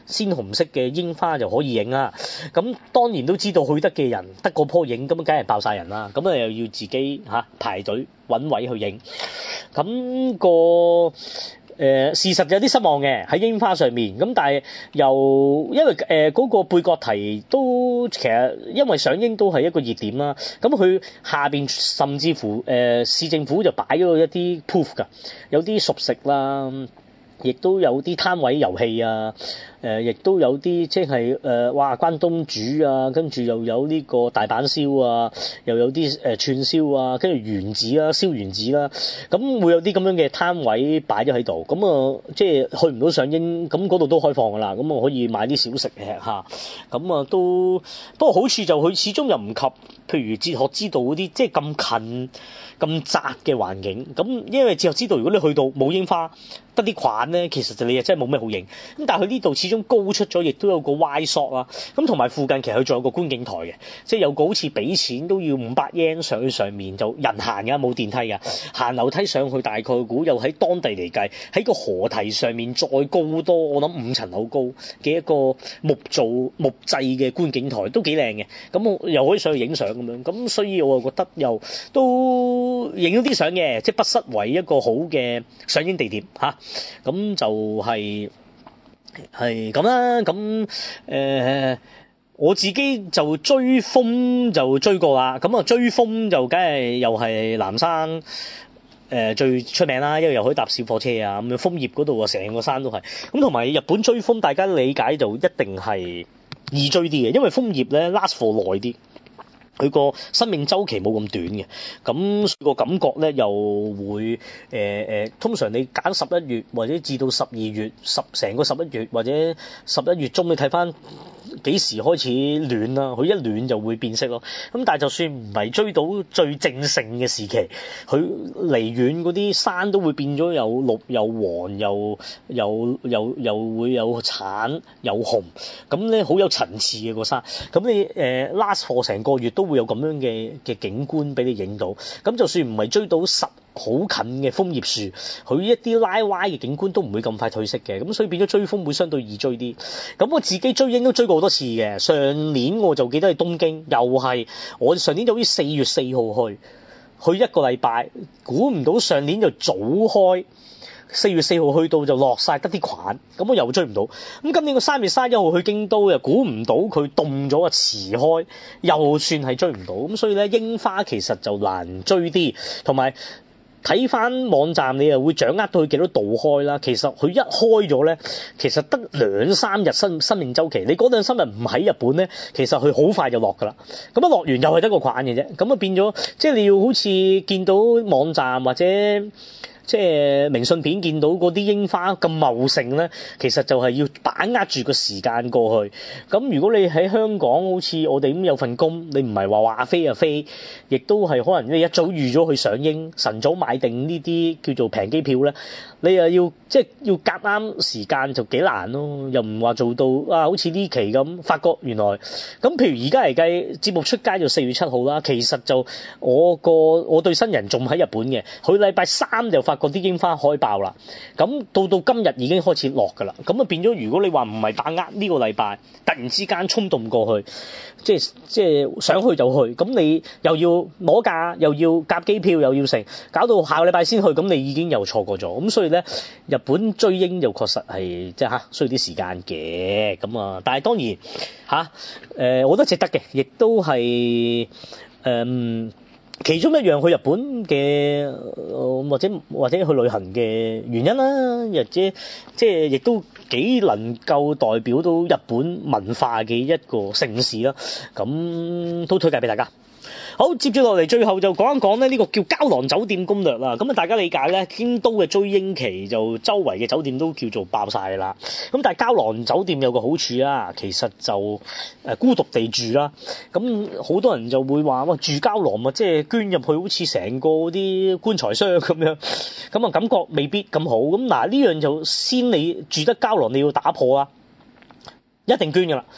鮮紅色嘅櫻花就可以影啦。咁當然都知道去得嘅人得嗰棵影，咁梗係爆晒人啦。咁又要自己排隊揾位去影。咁事實有啲失望嘅喺櫻花上面，咁但係又因為嗰個貝角堤都其實因為上映都係一個熱點啦，咁佢下邊甚至乎市政府就擺咗一啲 proof 㗎，有啲熟食啦，亦都有啲攤位遊戲啊，亦都有啲即係關東煮啊，跟住又有呢個大阪燒啊，又有啲串燒啊，跟住丸子啦，燒丸子啦，咁會有啲咁樣嘅攤位擺咗喺度，咁即係去唔到上映，咁嗰度都開放㗎啦，咁可以買啲小食吃下，咁都不過好處就佢始終又唔及，譬如哲學之道嗰啲，即係咁近咁窄嘅環境，咁因為哲學之道如果你去到冇櫻花，得啲款咧，其實就你又真係冇咩好影，咁但係佢呢度始終高出咗，亦都有個 Y shot 啦，咁同埋附近其實佢仲有個觀景台嘅，即係有個好似俾錢都要500 yen 上去上面，就人行㗎，冇電梯㗎，行樓梯上去大概估又喺當地嚟計，喺個河堤上面再高多，我諗5層樓高嘅一個木製嘅觀景台都幾靚嘅，咁我又可以上去影相咁樣，咁所以我覺得又都影咗啲相嘅，即係不失為一個好嘅上映地點嚇。咁就係咁啦，咁我自己就追風就追過啦，咁追風就梗係又係南山最出名啦，因為又可以搭小火車啊，咁樣楓葉嗰度啊，成個山都係，咁同埋日本追風大家理解就一定係易追啲嘅，因為楓葉咧 last for 耐啲。佢個生命週期冇咁短嘅，咁個感覺咧又會通常你揀11月或者至到12月成個11月或者11月中，你睇翻幾時開始暖啦，佢一暖就會變色咯。咁但係就算唔係追到最正盛嘅時期，佢離遠嗰啲山都會變咗有綠有黃又會有橙有紅，咁咧好有層次嘅個山。咁你last for 成個月都會有咁樣嘅景觀俾你影到，咁就算唔係追到好近嘅楓葉樹，佢一啲拉歪嘅景觀都唔會咁快褪色嘅，咁所以變咗追風會相對易追啲。咁我自己追櫻都追過好多次嘅，上年我就記得係東京，又係我上年就好似4月4號去一個禮拜，估唔到上年就早開。4月4號去到就落晒得啲菌，咁我又追唔到。咁今年個3月31號去京都又估唔到佢凍咗啊，遲開又算係追唔到。咁所以咧櫻花其實就難追啲，同埋睇翻網站你又會掌握到佢幾多度開啦。其實佢一開咗咧，其實得2-3日生命週期。你嗰2-3日唔喺日本咧，其實佢好快就落㗎啦。咁一落完又係得個菌嘅啫。咁啊變咗即係你要好似見到網站或者即係明信片見到嗰啲櫻花咁茂盛咧，其實就係要把握住個時間過去。咁如果你喺香港好似我哋咁有份工，你唔係話飛就飛，亦都係可能你一早預咗去上映，晨早買定呢啲叫做平機票咧，你又要即係要夾啱時間就幾難咯。又唔話做到好似呢期咁，發覺原來咁譬如而家嚟計節目出街就4月7號啦，其實就我對新人仲喺日本嘅，佢禮拜3就發覺啲櫻花開爆啦，咁到今日已經開始落㗎啦，咁啊變咗如果你話唔係把握呢個禮拜，突然之間衝動過去，即係想去就去，咁你又要攞假，又要夾機票，又要成，搞到下個禮拜先去，咁你已經又錯過咗，咁所以咧日本追櫻就確實係即係需要啲時間嘅，咁啊，但係當然我覺得值得嘅，亦都係其中一樣去日本嘅或者去旅行嘅原因啦，或者即係亦都幾能夠代表到日本文化嘅一個城市啦，咁都推介俾大家。好，接住落嚟最後就講一講呢個叫膠囊酒店攻略啦。咁啊大家理解咧，京都嘅追櫻期就周圍嘅酒店都叫做爆晒啦。咁但係膠囊酒店有個好處啦，其實就孤獨地住啦。咁好多人就會話哇，住膠囊啊，即係捐入去好似成個啲棺材箱咁樣，咁啊感覺未必咁好。咁嗱呢樣就先你住得膠囊你要打破啦，一定捐㗎啦。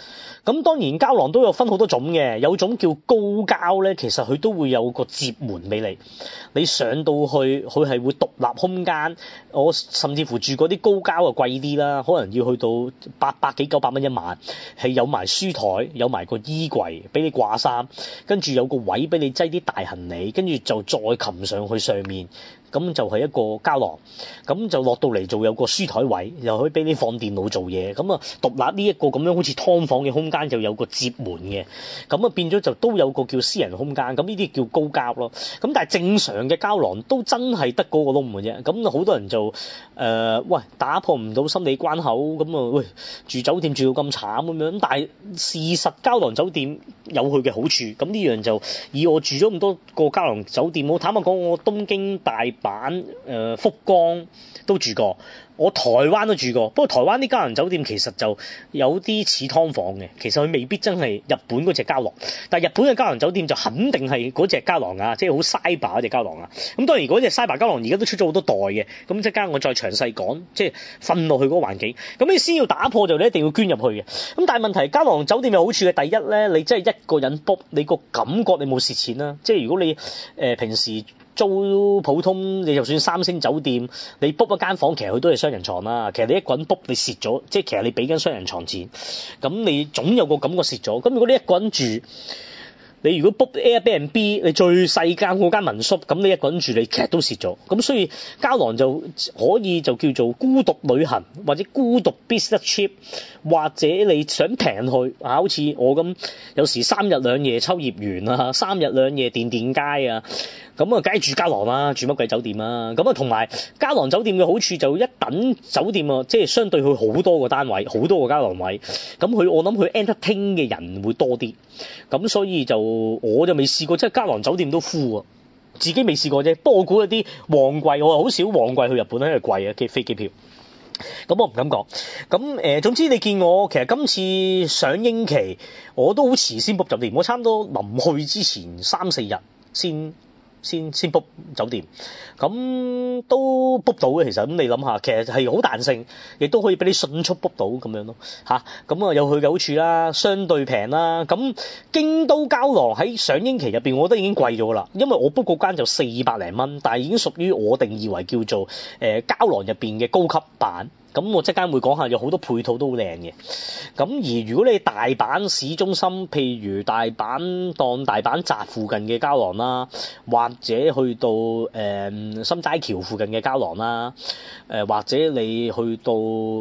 咁當然膠囊都有分好多種嘅，有種叫高膠咧，其實佢都會有個接門俾你，你上到去佢係會獨立空間。我甚至乎住嗰啲高膠啊貴啲啦，可能要去到800幾900蚊一晚，係有埋書台，有埋個衣櫃俾你掛衫，跟住有個位俾你擠啲大行李，跟住就再擒上去上面。咁就係一個膠囊，咁就落到嚟做有個書台位，又可以俾你放電腦做嘢，咁啊獨立呢一個咁樣好似劏房嘅空間就有個接門嘅，咁啊變咗就都有個叫私人空間，咁呢啲叫高膠咯。咁但係正常嘅膠囊都真係得嗰個窿嘅啫，咁好多人就喂打破唔到心理關口，咁啊喂住酒店住到咁慘咁樣，但係事實膠囊酒店有佢嘅好處，咁呢樣就以我住咗咁多個膠囊酒店，我坦白講我東京大阪福岡都住過，我台灣都住過，不過台灣啲膠囊酒店其實就有啲似劏房嘅，其實佢未必真係日本嗰隻膠囊，但係日本嘅膠囊酒店就肯定係嗰隻膠囊啊，即係好 cyber 嗰隻膠囊啊。咁當然嗰隻 cyber 膠囊而家都出咗好多代嘅，咁即刻我再詳細講，即係瞓落去嗰個環境。咁你先要打破就你一定要捐入去嘅。咁但係問題膠囊酒店有好處嘅，第一咧，你真係一個人 book，你個感覺你冇蝕錢啦。即係如果你平時租普通，你就算3星酒店，你 book 一間房，其實佢都係雙人床啦。其實你一個人 book 你蝕咗，即係其實你俾緊雙人床錢，咁你總有個感覺蝕咗。咁如果你一個人住，你如果 book Airbnb， 你最細間嗰間民宿，咁你一個人住你其實都蝕咗。咁所以膠囊就可以就叫做孤獨旅行，或者孤獨 business trip， 或者你想平去啊，好似我咁有時3日2夜秋葉原啊，3日2夜電電街啊，咁啊梗係住膠囊啦，住乜鬼酒店啊。咁啊同埋膠囊酒店嘅好處就一等酒店啊，即係相對佢好多個單位，好多個膠囊位，咁我諗佢 entertain 嘅人會多啲，咁所以就我就未試過，即係膠囊酒店都 full 啊，自己未試過啫。不過我估一啲旺季，我好少旺季去日本，因為貴啊，飛機票。咁我唔敢講。咁總之你見我其實今次上映期我都好遲先 book 酒店，我差唔多臨去之前3-4日先 book 酒店，咁都 book 到嘅。其實咁你諗下，其實係好彈性，亦都可以俾你迅速 book 到咁樣咯嚇。咁啊有佢嘅好處啦，相對平啦。咁京都膠囊喺上映期入邊，我覺得已經貴咗啦，因為我 book 嗰間就400零蚊，但係已經屬於我定義為叫做膠囊入邊嘅高級版。咁我即刻會講下，有好多配套都好靚嘅。咁而如果你大阪市中心，譬如大阪站附近嘅膠囊啦，或者去到心齋橋附近嘅膠囊啦，或者你去到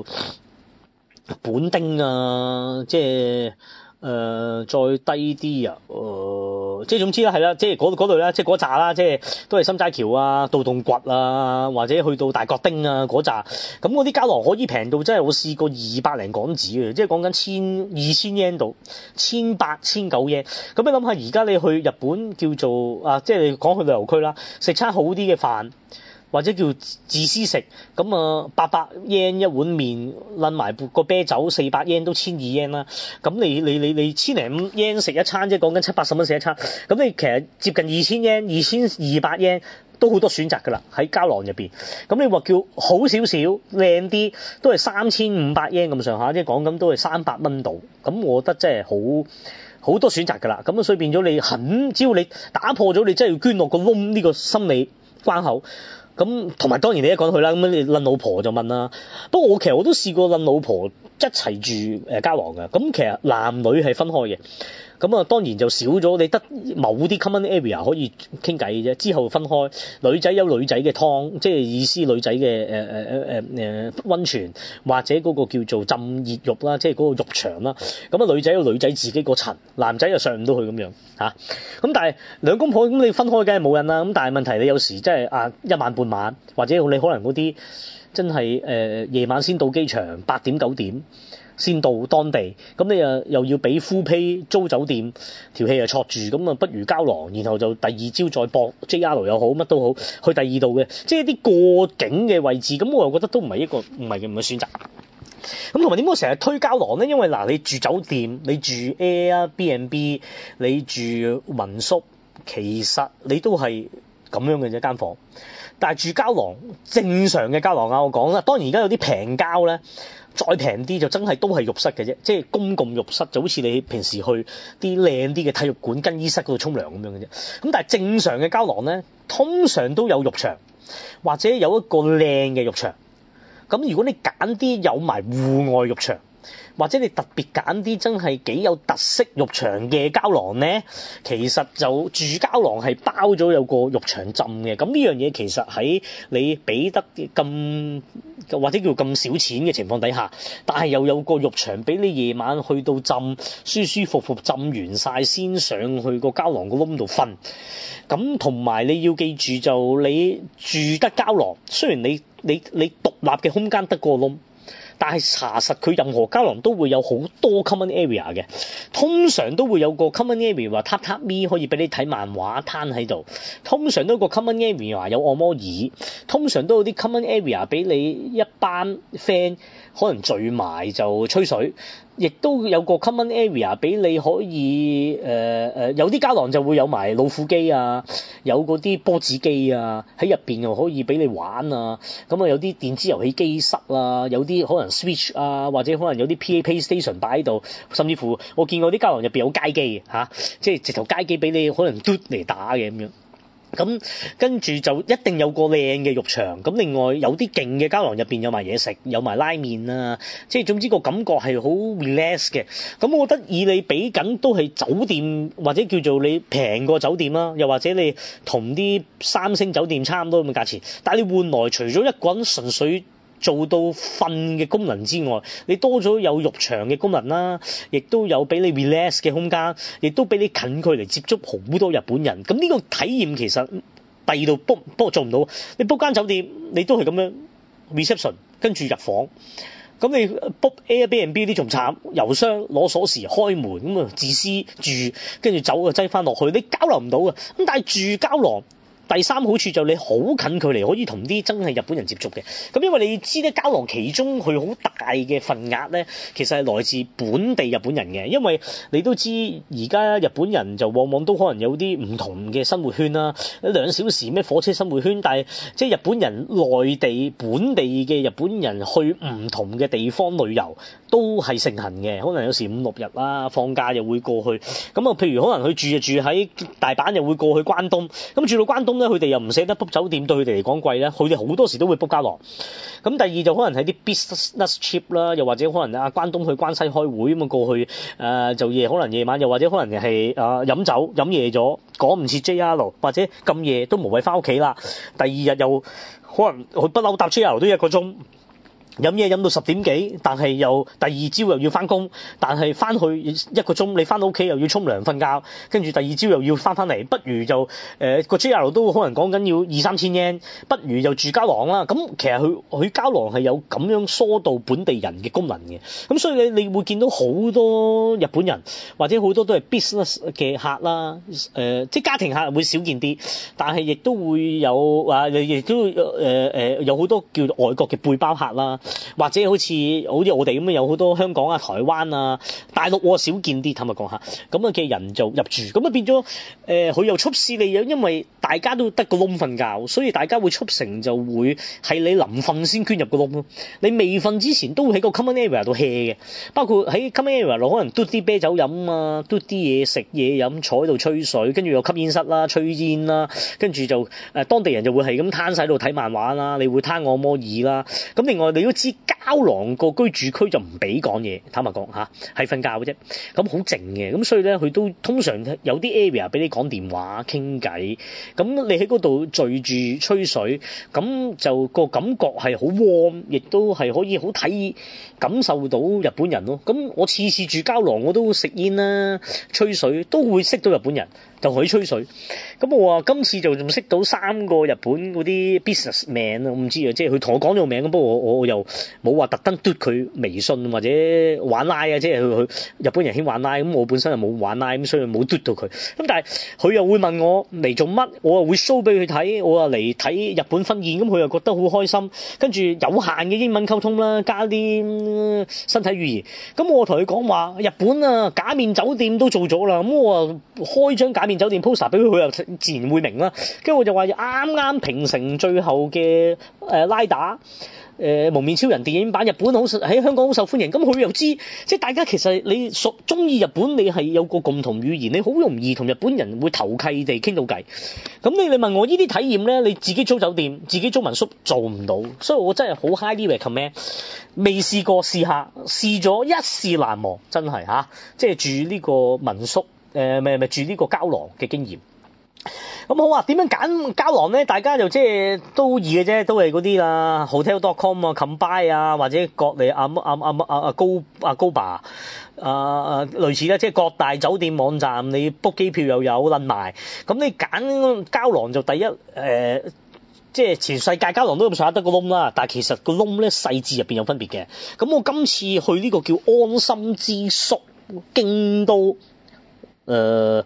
本町啊，即係再低啲啊，即係總之啦，係啦，即係嗰度啦，即係嗰扎啦，即係都係心齋橋啊、道頓堀啊，或者去到大角町啊嗰扎，咁嗰啲膠囊可以平到真係我試過200零港紙嘅，即係講緊2000 yen 到1800-1900 yen。咁你諗下，而家你去日本叫做啊，即係你講去旅遊區啦，食餐好啲嘅飯，或者叫自私食，咁啊800 yen 一碗麵，撚埋個啤酒400 yen 都1200 yen 啦。咁你1000零yen 食一餐，即係講緊70-80蚊食一餐。咁你其實接近2000 yen、2200 yen都好多選擇㗎啦，喺膠囊入邊。咁你話叫好少少、靚啲，都係3500 yen 咁上下，即係講緊都係300蚊度。咁我覺得真係好多選擇㗎啦。咁啊，所以變咗你只要你打破咗你真係要捐落個窿呢個心理關口。咁同埋當然你一講去啦，咁你撚老婆就問啦。不過其實我都試過撚老婆一齊住膠囊嘅，咁其實男女係分開嘅。咁啊當然就少咗，你得某啲 common area 可以傾偈嘅啫，之後分開。女仔有女仔嘅湯，即係意思女仔嘅溫泉，或者嗰個叫做浸熱浴啦，即係嗰個浴場啦。咁啊女仔有女仔自己個層，男仔又上唔到去咁樣嚇。咁但係兩公婆咁你分開梗係冇人啦。咁但係問題你有時真係1晚半晚，或者你可能嗰啲真係夜晚先到機場8點9點。先到當地，咁你又要俾 full pay 租酒店，條氣又錯住，咁啊不如膠囊，然後就第二朝再駁 JR 又好，乜都好，去第二度嘅，即係啲過境嘅位置，咁我又覺得都唔係唔係選擇。咁同埋點解我成日推膠囊咧？因為嗱，你住酒店，你住 Airbnb，你住民宿，其實你都係咁樣嘅啫間房。但係住膠囊，正常嘅膠囊啊，我講啦，當然而家有啲平膠咧，再平啲就真係都係浴室嘅啫，即係公共浴室，就好似你平時去啲靚啲嘅體育館更衣室嗰度沖涼咁樣嘅啫。咁但係正常嘅膠囊咧，通常都有浴場或者有一個靚嘅浴場。咁如果你揀啲有埋戶外浴場，或者你特別揀啲真係幾有特色浴場嘅膠囊咧，其實就住膠囊係包咗有個浴場浸嘅。咁呢樣嘢其實喺你俾得咁或者叫咁少錢嘅情況底下，但係又有個浴場俾你夜晚去到浸，舒舒服服浸完晒先上去個膠囊個窿度瞓。咁同埋你要記住，就你住得膠囊，雖然你獨立嘅空間得個窿，但係查實佢任何膠囊都會有好多 common area 嘅，通常都會有個 common area 話榻榻米可以俾你睇漫畫攤喺度，通常都有個 common area 話有按摩椅，通常都有啲 common area 俾你一班 friend 可能聚埋就吹水，亦都有個 common area 俾你可以有啲膠囊就會有埋老虎機啊，有嗰啲波子機啊，喺入邊又可以俾你玩啊，咁啊有啲電子遊戲機室啊，有啲可能 Switch 啊，或者可能有啲 PlayStation 擺喺度，甚至乎我見過啲膠囊入邊有街機嚇，即係直頭街機俾你可能嘟嚟打嘅咁樣。咁跟住就一定有個靚嘅浴場，咁另外有啲勁嘅膠囊入邊有埋嘢食，有埋拉麵啊，即係總之個感覺係好 relax 嘅。咁我覺得以你俾緊都係酒店或者叫做你平過酒店啦，又或者你同啲3星酒店差唔多咁嘅價錢，但係你換來除咗一個人純粹做到瞓嘅功能之外，你多咗有浴場嘅功能啦，亦都有俾你 relax 嘅空間，亦都俾你近距離接觸好多日本人。咁呢個體驗其實第二度 book 不過做唔到，你 book 間酒店你都係咁樣 reception 跟住入房。咁你 book Airbnb 啲仲慘，郵箱攞鎖匙開門咁啊，自私住跟住走啊擠翻落去，你交流唔到啊。咁但係住膠囊。第三好處就你好近距離可以同啲真係日本人接觸嘅，咁因為你知咧膠囊其中佢好大嘅份額咧，其實係來自本地日本人嘅，因為你都知而家日本人就往往都可能有啲唔同嘅生活圈啦，2小時咩火車生活圈，但係即係日本人內地本地嘅日本人去唔同嘅地方旅遊都係盛行嘅，可能有時5、6日啦，放假又會過去，咁啊譬如可能佢住喺大阪又會過去關東，咁住到關東佢哋又唔捨得 book 酒店，對佢哋嚟講貴咧，佢哋好多時都會 book 膠囊。咁第二就可能係啲 business trip 啦，又或者可能關東去關西開會咁啊過去就可能夜晚，又或者可能係飲酒飲夜咗，趕唔切 JR 或者咁夜都無謂翻屋企啦。第二日又可能佢不嬲搭 JR 都1個鐘。飲嘢飲到10點幾，但係又第二朝又要翻工，但係翻去1個鐘，你翻到屋企又要沖涼瞓覺，跟住第二朝又要翻嚟，不如就個 JR 都可能講緊要2、3千yen，不如就住膠囊啦。咁其實佢膠囊係有咁樣疏導本地人嘅功能嘅，咁所以你會見到好多日本人或者好多都係 business 嘅客啦，即係家庭客會少見啲，但係亦都會有亦都有好多叫做外國嘅背包客啦。或者好似我哋咁樣有好多香港啊、台灣啊、大陸我少見啲，坦白講下咁嘅人就入住，咁啊變咗佢又促使你，因為大家都得個窿瞓覺，所以大家會促成就會係你臨瞓先捐入個窿咯。你未瞓之前都會喺個 common area 度 hea 嘅，包括喺 common area 度可能嘟啲啤酒飲啊，嘟啲嘢食嘢飲，坐喺度吹水，跟住有吸煙室啦、吹煙啦，跟住就當地人就會係咁攤晒喺度睇漫畫啦，你會攤按摩椅啦，咁另外你都知膠囊個居住區就唔俾講嘢，坦白講嚇，係瞓覺嘅啫，咁好靜嘅，咁所以咧佢都通常有啲 area 俾你講電話傾偈，咁你喺嗰度聚住吹水，咁就個感覺係好 warm，亦都係可以好感受到日本人咯。咁我次次住膠囊我都食煙啦、吹水，都會識到日本人，就可以吹水。咁我話今次就仲識到3個日本嗰啲 businessman 啊，我唔知啊，即係佢同我講咗個名，不過我又冇冇話特登嘟佢微信或者玩拉啊，即係佢日本人興玩拉，咁我本身又冇玩拉，咁所以冇嘟到佢。咁但係佢又會問我嚟做乜，我又會 show 俾佢睇，我又嚟睇日本婚宴，咁佢又覺得好開心。跟住有限嘅英文溝通啦，加啲身體語言。咁我同佢講話，日本啊假面酒店都做咗啦，咁我啊開張假面酒店 poster 俾佢，佢又自然會明啦。跟住我就話啱啱平成最後嘅拉打。蒙面超人電影版日本喺香港好受歡迎，咁佢又知，即係大家其實你中意日本，你係有個共同語言，你好容易同日本人會投契地傾到偈。咁你問我呢啲體驗咧，你自己租酒店、自己租民宿做唔到，所以我真係好 highly recommend，未試過試下，試咗一試難忘，真係嚇，即係住呢個民宿，住呢個膠囊嘅經驗。咁好啊，點樣揀膠囊咧？大家就即係都易嘅啫，都係嗰啲啦 ，hotel.com 啊 ，Combine 啊，或者各嚟高爸類似啦，即係各大酒店網站，你 book 機票又有撚埋。咁你揀膠囊就第一即係全世界膠囊都咁上下得個窿啦，但係其實個窿咧細緻入邊有分別嘅。咁我今次去呢個叫安心之宿京都。4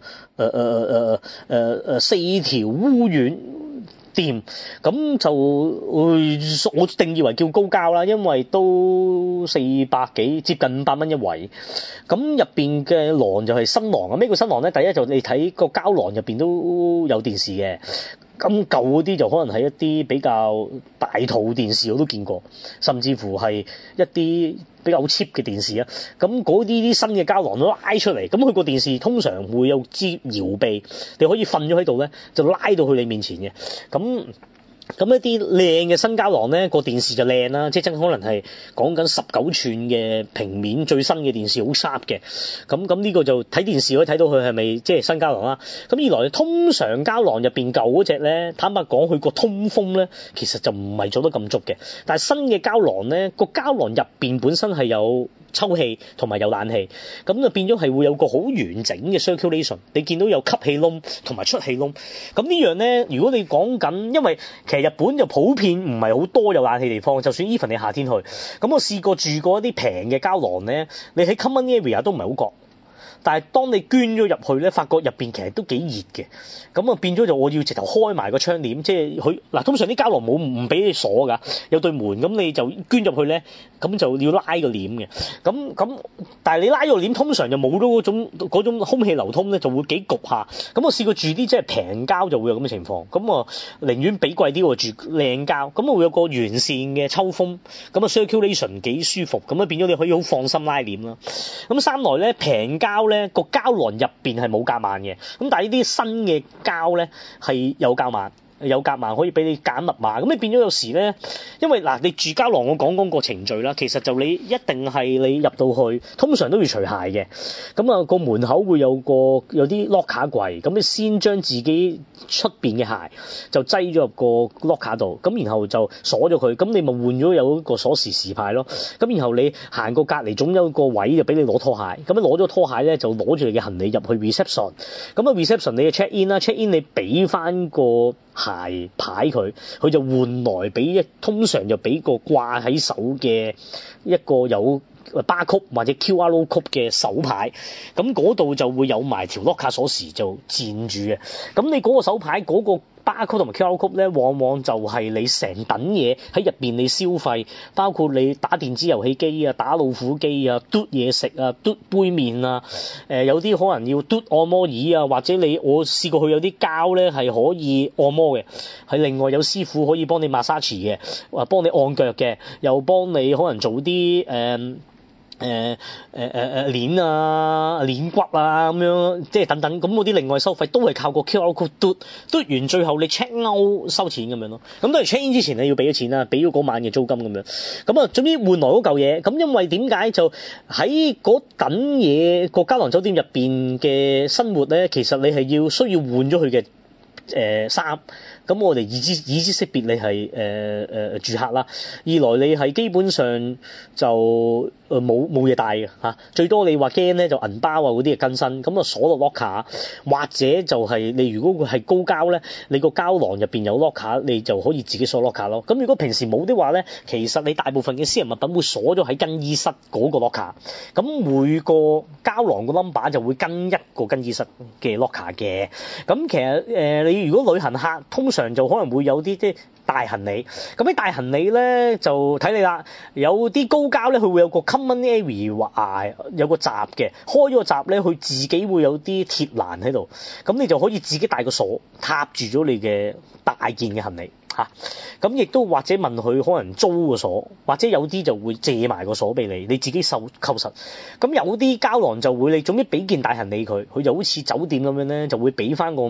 條烏丸店，咁就我定義為叫高膠啦，因為都400幾，接近500蚊一位。咁入邊嘅廊就係新廊啊！咩叫新廊咧？第一就你睇個膠囊入邊都有電視嘅。咁舊嗰啲就可能係一啲比較大套電視我都見過，甚至乎係一啲比較 cheap 嘅電視啊。咁嗰啲新嘅膠囊都拉出嚟，咁佢個電視通常會有支搖臂，你可以瞓咗喺度咧，就拉到去你面前嘅。咁一啲靚嘅新膠囊咧，個電視就靚啦，即係真可能係講緊19寸嘅平面最新嘅電視，好 sharp 嘅。咁呢個就睇電視可以睇到佢係咪即係新膠囊啦。咁二來通常膠囊入邊舊嗰隻咧，坦白講佢個通風咧，其實就唔係做得咁足嘅。但係新嘅膠囊咧，個膠囊入邊本身係有抽氣同埋有冷氣，咁就變咗係會有個好完整嘅 circulation。你見到有吸氣窿同埋出氣窿。咁呢樣咧，如果你講緊，因為其實日本就普遍唔係好多有冷氣地方，就算 even 你夏天去，咁我試過住過一啲平嘅膠囊咧，你喺 common area 都唔係好覺。但係當你捐咗入去咧，發覺入邊其實都幾熱嘅，咁啊變咗就我要直頭開埋個窗簾，即係佢嗱通常啲膠囊冇唔俾你鎖㗎，有對門，咁你就捐入去咧，咁就要拉個簾嘅，咁但係你拉個簾通常就冇咗嗰種空氣流通咧，就會幾焗下。咁我試過住啲即係平膠就會有咁嘅情況，咁我寧願俾貴啲我住靚膠，咁我會有個完善嘅抽風，咁啊 circulation 幾舒服，咁啊變咗你可以好放心拉簾啦。咁三來咧平膠咧。個膠囊入邊係冇夾萬嘅，咁但係呢啲新嘅膠咧係有夾萬。有夾萬可以俾你揀密碼，咁你變咗有時咧，因為嗱你住膠囊我講個程序啦，其實就你一定係你入到去，通常都要除鞋嘅，咁啊個門口會有啲 locker 櫃，咁你先將自己出邊嘅鞋就擠咗入個 locker 度，咁然後就鎖咗佢，咁你咪換咗有一個鎖匙匙牌咯，咁然後你行過隔離總有個位就俾你攞拖鞋，咁你攞咗拖鞋咧就攞住你嘅行李入去 reception， 咁啊 reception 你嘅 check in 啦 ，check in 你俾翻個鞋牌佢就換來俾通常就俾個掛喺手嘅一個有barcode或者 QR code 嘅手牌，咁嗰度就會有埋條 locker 鎖匙就佔住嘅，咁你嗰個手牌嗰個barcode同埋 QR code 咧，往往就係你成等嘢喺入邊你消費，包括你打電子遊戲機啊、打老虎機啊、嘟嘢食啊、嘟杯麵啊，有啲可能要嘟按摩椅啊，或者我試過去有啲膠咧係可以按摩嘅，係另外有師傅可以幫你 massage 嘅，或幫你按腳嘅，又幫你可能做啲鏈啊、鏈骨啊咁樣，即係等等，咁嗰啲另外收費都係靠個 QR code 嘟完，最後你 check out 收錢咁樣咯。咁當然 check in 之前你要俾咗錢啦，俾咗嗰晚嘅租金咁樣。咁啊，總之換來嗰嚿嘢。咁因為點解就喺嗰等嘢個膠囊酒店入邊嘅生活咧，其實你係需要換咗佢嘅衫， 咁我哋已知識別你係住客啦，二來你係基本上就冇嘢帶嘅嚇，最多你話驚咧就銀包啊嗰啲嘅更新，咁啊鎖落 locker， 或者就係你如果佢係高膠咧，你個膠囊入邊有 locker， 你就可以自己鎖 locker 咯。咁如果平時冇的話咧，其實你大部分嘅私人物品會鎖咗喺更衣室嗰個 locker， 咁每個膠囊個 number 就會跟一個更衣室嘅 locker 嘅。咁其實你如果旅行客通常就可能會有啲大行李，咁啲大行李咧就睇你啦，有啲高膠咧佢會有個 common area， 有個閘嘅，開咗個閘咧佢自己會有啲鐵欄喺度，咁你就可以自己帶個鎖踏住咗你嘅大件嘅行李嚇，咁亦都或者問佢可能租個鎖，或者有啲就會借埋個鎖俾你，你自己扣實。咁有啲膠囊就會你總之俾件大行李佢就好似酒店咁樣咧，就會俾翻個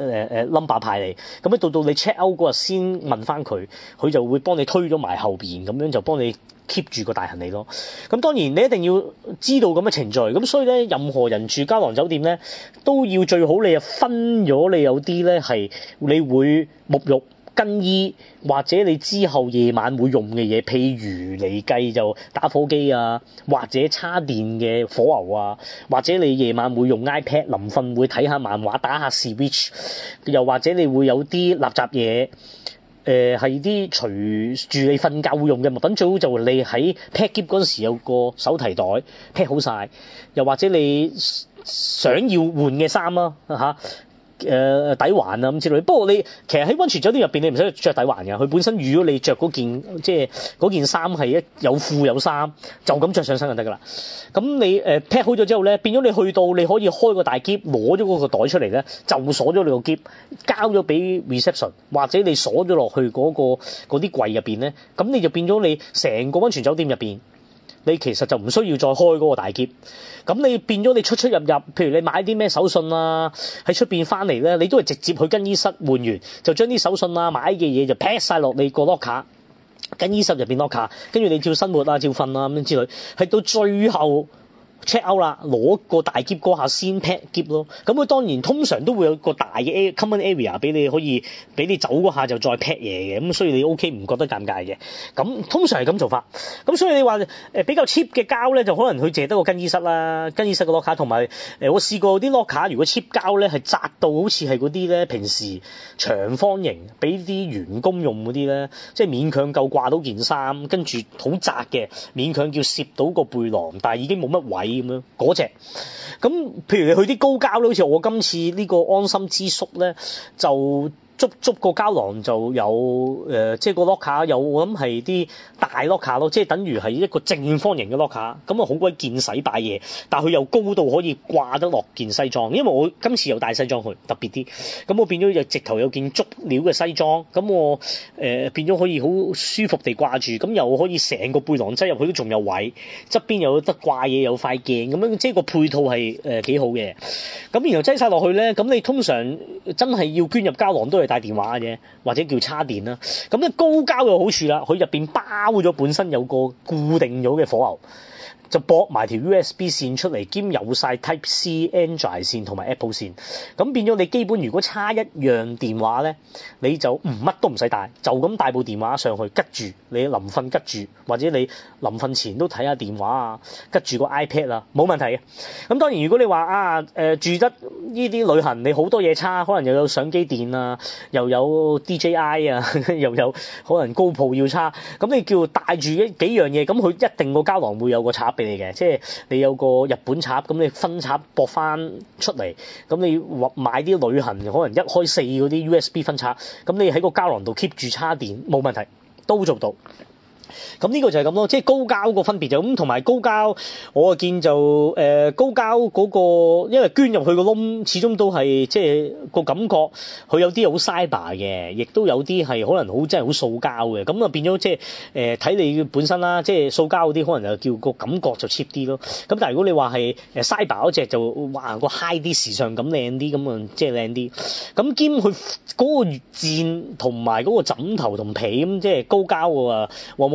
number 牌你，咁咧到你 check out 嗰日先問翻佢就會幫你推咗埋後邊，咁樣就幫你 keep 住個大行李咯。咁當然你一定要知道咁嘅程序，咁所以咧任何人住膠囊酒店咧都要最好你啊分咗，你有啲咧係你會沐浴更衣或者你之後夜晚會用嘅嘢，譬如嚟計就打火機啊，或者叉電嘅火牛啊，或者你夜晚會用 iPad 臨瞓會睇下漫畫打下 Switch， 又或者你會有啲垃圾嘢係啲隨住你瞓覺會用嘅物品，最好就你喺 pack 篋嗰陣時有個手提袋 pack 好晒，又或者你想要換嘅衫啦嚇。底環啊咁之類，不過你其實喺溫泉酒店入邊你唔使着底環嘅，佢本身如果你着嗰件即係嗰件衫係有褲有衫，就咁着上身就得㗎啦。咁你pack 好咗之後咧，變咗你去到你可以開個大篋攞咗嗰個袋出嚟咧，就鎖咗你個篋，交咗俾 reception 或者你鎖咗落去嗰啲櫃入邊咧，咁你就變咗你成個溫泉酒店入邊。你其實就唔需要再開嗰個大篋，咁你變咗你出入，譬如你買啲咩手信啊，喺出邊翻嚟咧，你都係直接去更衣室換完，就將啲手信啊買嘅嘢就 pack 晒落你個 locker， 更衣室入邊 locker， 跟住你照生活啊，照瞓啊咁樣之類，係到最後。check out 啦，攞個大篋嗰下先 pack 篋咯。咁佢當然通常都會有個大嘅 common area 俾你可以俾你走嗰下就再 pack 嘢嘅，咁所以你 OK 唔覺得尷尬嘅。咁通常係咁做法。咁所以你話比較 cheap 嘅膠咧，就可能佢淨係得個更衣室啦，更衣室個 locker 同埋我試過啲 locker 如果 cheap 膠咧係窄到好似係嗰啲咧平時長方形俾啲員工用嗰啲咧，即係勉強夠掛到件衫，跟住好窄嘅，勉強叫攝到個背囊，但係已經冇乜位。咁樣嗰隻，咁譬如你去啲高膠咧，好似我今次呢個安心之宿咧，就捉個膠囊就有即係個 locker 有，我諗係啲大 locker 咯，即係等於係一個正方形嘅 locker，咁啊好鬼見使擺嘢，但係佢又高度可以掛得落件西裝，因為我今次有帶西裝去，特別啲，咁我變咗就直頭有件足料嘅西裝，咁我變咗可以好舒服地掛住，咁又可以成個背囊擠入去都仲有位，側邊又有得掛嘢，有塊鏡咁樣，即係個配套係幾好嘅。咁然後擠晒落去咧，咁你通常真係要捐入膠囊都係帶電話嘅啫，或者叫叉電啦。咁咧高膠有好處啦，佢入邊包咗本身有個固定咗嘅火牛，就駁埋條 USB 線出嚟，兼有晒 Type C Android 線同埋 Apple 線，咁變咗你基本如果差一樣電話咧，你就乜都唔使帶，就咁帶部電話上去吉住，你臨瞓吉住，或者你臨瞓前都睇下電話啊，吉住個 iPad 啊，冇問題嘅。咁當然如果你話住得呢啲旅行，你好多嘢叉，可能又有相機電啊，又有 DJI 啊，又有可能 GoPro要叉，咁你叫帶住幾樣嘢，咁佢一定個膠囊會有個插俾你嘅，即係你有個日本插，咁你分插駁翻出嚟，咁你買啲旅行可能一開四嗰啲 USB 分插，咁你喺個膠囊度 keep 住插電冇問題，都做到。咁呢個就係咁咯，即係高膠個分別就咁，同埋高膠我見就高膠嗰個，因為捐入去個窿，始終都係即係個感覺，佢有啲好 cyber 嘅，亦都有啲係可能好真係好塑膠嘅，咁啊變咗即係睇你本身啦，即係塑膠嗰啲可能就叫個感覺就 cheap 啲咯。咁但係如果你話係cyber 嗰隻就哇個 high 啲時尚感靚啲，咁啊即係靚啲。咁兼佢嗰個墊同埋嗰個枕頭同被咁即係高膠喎，往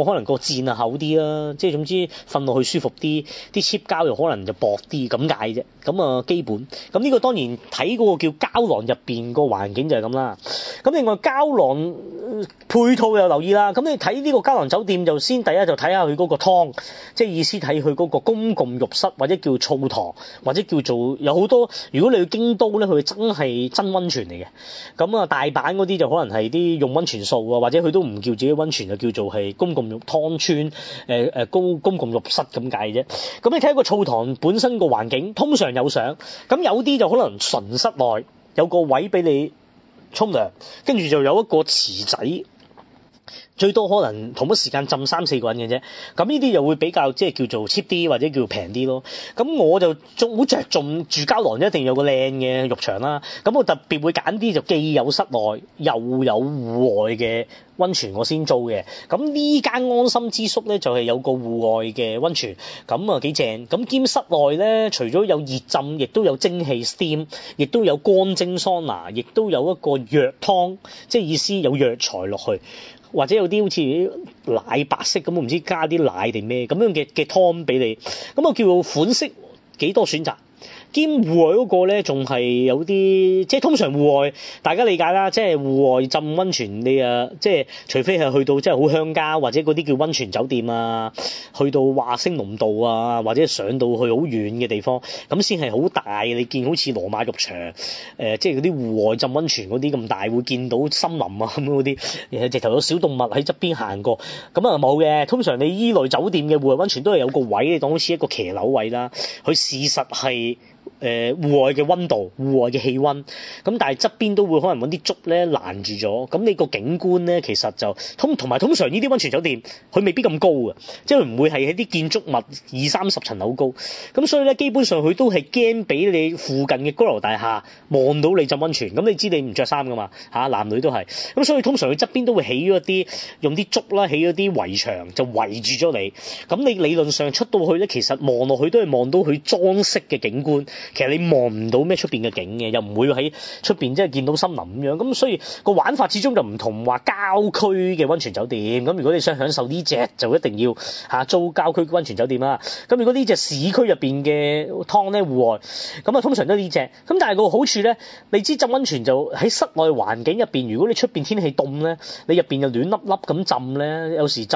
冇可能個墊啊厚啲啦，即係總之瞓落去舒服啲，啲 cheap 膠又可能就薄啲咁解啫。咁啊基本，咁呢個當然睇嗰個叫膠囊入邊個環境就係咁啦。咁另外膠囊配套又留意啦。咁你睇呢個膠囊酒店就先第一就睇下佢嗰個湯，即係意思睇佢嗰個公共浴室或者叫澡堂或者叫做有好多。如果你去京都咧，佢真係真溫泉嚟嘅。咁啊大阪嗰啲就可能係啲用溫泉素啊，或者佢都唔叫自己溫泉，就叫做係公共浴湯村公共浴室咁解啫。咁你睇個澡堂本身個環境，通常有相，咁有啲就可能純室內有個位俾你沖涼，跟住就有一個池仔。最多可能同一時間浸3-4個人嘅啫，咁呢啲又會比較即係叫做 cheap 啲或者叫平啲咯。咁我就好着重住膠囊一定有個靚嘅浴場啦。咁我特別會揀啲就既有室內又有戶外嘅溫泉，我先租嘅。咁呢間安心之宿咧就係有個戶外嘅溫泉，咁啊幾正。咁兼室內咧，除咗有熱浸，亦都有蒸汽 steam， 亦都有乾蒸桑拿，亦都有一個藥湯，即係意思有藥材落去。或者有啲好似奶白色咁，我唔知加啲奶定咩咁樣嘅湯俾你，咁啊叫款式幾多選擇。兼戶外嗰個咧，仲係有啲即係通常戶外大家理解啦，即係戶外浸溫泉你啊，即係除非係去到即係好鄉郊或者嗰啲叫溫泉酒店啊，去到話星龍道啊，或者上到去好遠嘅地方，咁先係好大。你見好似羅馬浴場即係嗰啲戶外浸溫泉嗰啲咁大，會見到森林啊咁嗰啲，直頭有小動物喺側邊行過，咁啊冇嘅。通常你依類酒店嘅戶外溫泉都係有個位，你當好似一個騎樓位啦，佢事實係戶外嘅溫度、戶外嘅氣溫，咁但係側邊都會可能揾啲竹咧攔住咗，咁你個景觀咧其實就通常呢啲溫泉酒店佢未必咁高嘅，即係唔會係喺啲建築物20-30層樓高，咁所以咧基本上佢都係驚俾你附近嘅高樓大廈望到你浸溫泉，咁你知你唔着衫噶嘛嚇，男女都係，咁所以通常佢側邊都會起咗一啲用啲竹啦，起咗啲圍牆就圍住咗你，咁你理論上出到去咧，其實望落去都係望到佢裝飾嘅景觀。其實你望唔到咩出邊嘅景嘅，又唔會喺出邊即係見到森林咁樣，咁所以個玩法始終就唔同話郊區嘅溫泉酒店。咁如果你想享受呢隻，就一定要租郊區溫泉酒店啦。咁如果呢隻市區入邊嘅湯咧戶外，咁啊通常都呢隻。咁但係個好處咧，你知浸溫泉就喺室內環境入邊，如果你出邊天氣凍咧，你入邊就暖粒粒咁浸咧，有時浸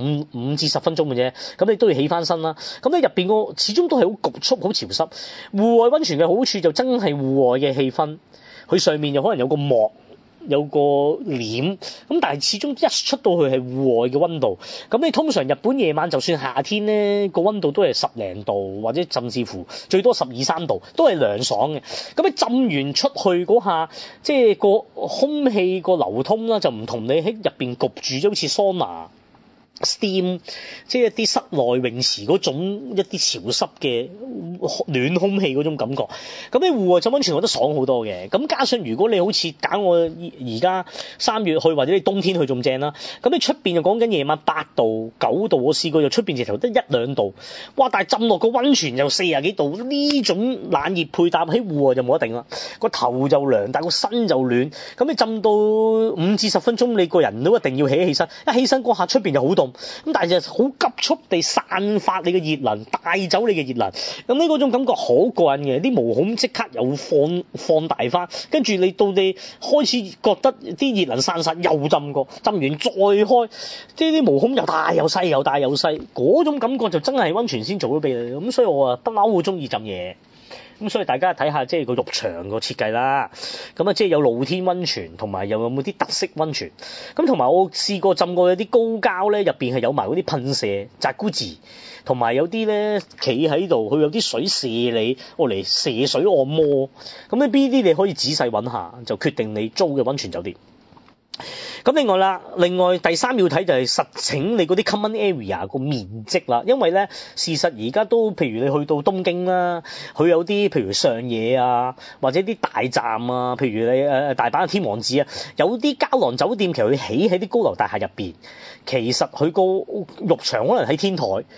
5至10分鐘嘅啫，咁你都要起翻身啦。咁你入邊個始終都係好焗促、好潮濕。戶外溫泉嘅好處就真係戶外嘅氣氛，佢上面又可能有個幕，有個簾，咁但係始終一出到去係戶外嘅溫度。咁你通常日本夜晚就算夏天咧，個溫度都係10零度，或者甚至乎最多12-13度，都係涼爽嘅。咁你浸完出去嗰下，即係個空氣個流通啦，就唔同你喺入邊焗住，即好似桑拿steam， 即係一啲室內泳池嗰種一啲潮濕嘅暖空氣嗰種感覺。咁你戶外浸溫泉我覺得爽好多嘅。咁加上如果你好似揀我而家3月去，或者你冬天去仲正啦。咁你出邊就講緊夜晚8度9度，我試過就出邊直頭得1-2度，哇！但係浸落個溫泉就40幾度，呢種冷熱配搭喺戶外就冇得頂啦。個頭就涼，但係個身就暖。咁你浸到5至10分鐘，你個人都一定要起身，一起身嗰下出邊就好凍。咁但係就好急速地散發你嘅熱能，帶走你嘅熱能。咁呢嗰種感覺好過癮嘅，啲毛孔即刻又放大翻，跟住你到你開始覺得啲熱能散晒，又浸過，浸完再開，即係啲毛孔又大又細，又大又細，嗰種感覺就真係溫泉先做到俾你。咁所以我不嬲好中意浸嘢。咁所以大家睇下即係個浴場個設計啦，咁啊即係有露天溫泉，同埋又有冇啲特色溫泉。咁同埋我試過浸過有啲高膠咧，入邊係有埋嗰啲噴射Jacuzzi，同埋有啲咧企喺度，佢有啲水射你，我嚟射水按摩。咁呢啲你可以仔細揾下，就決定你租嘅溫泉酒店。咁另外第3要睇就係實情你嗰啲 common area 個面積啦，因為咧事實而家都譬如你去到東京啦，佢有啲譬如上野啊，或者啲大站啊，譬如你大阪嘅天王寺啊，有啲膠囊酒店其實佢起喺啲高樓大廈入邊，其實佢個浴場可能喺天台，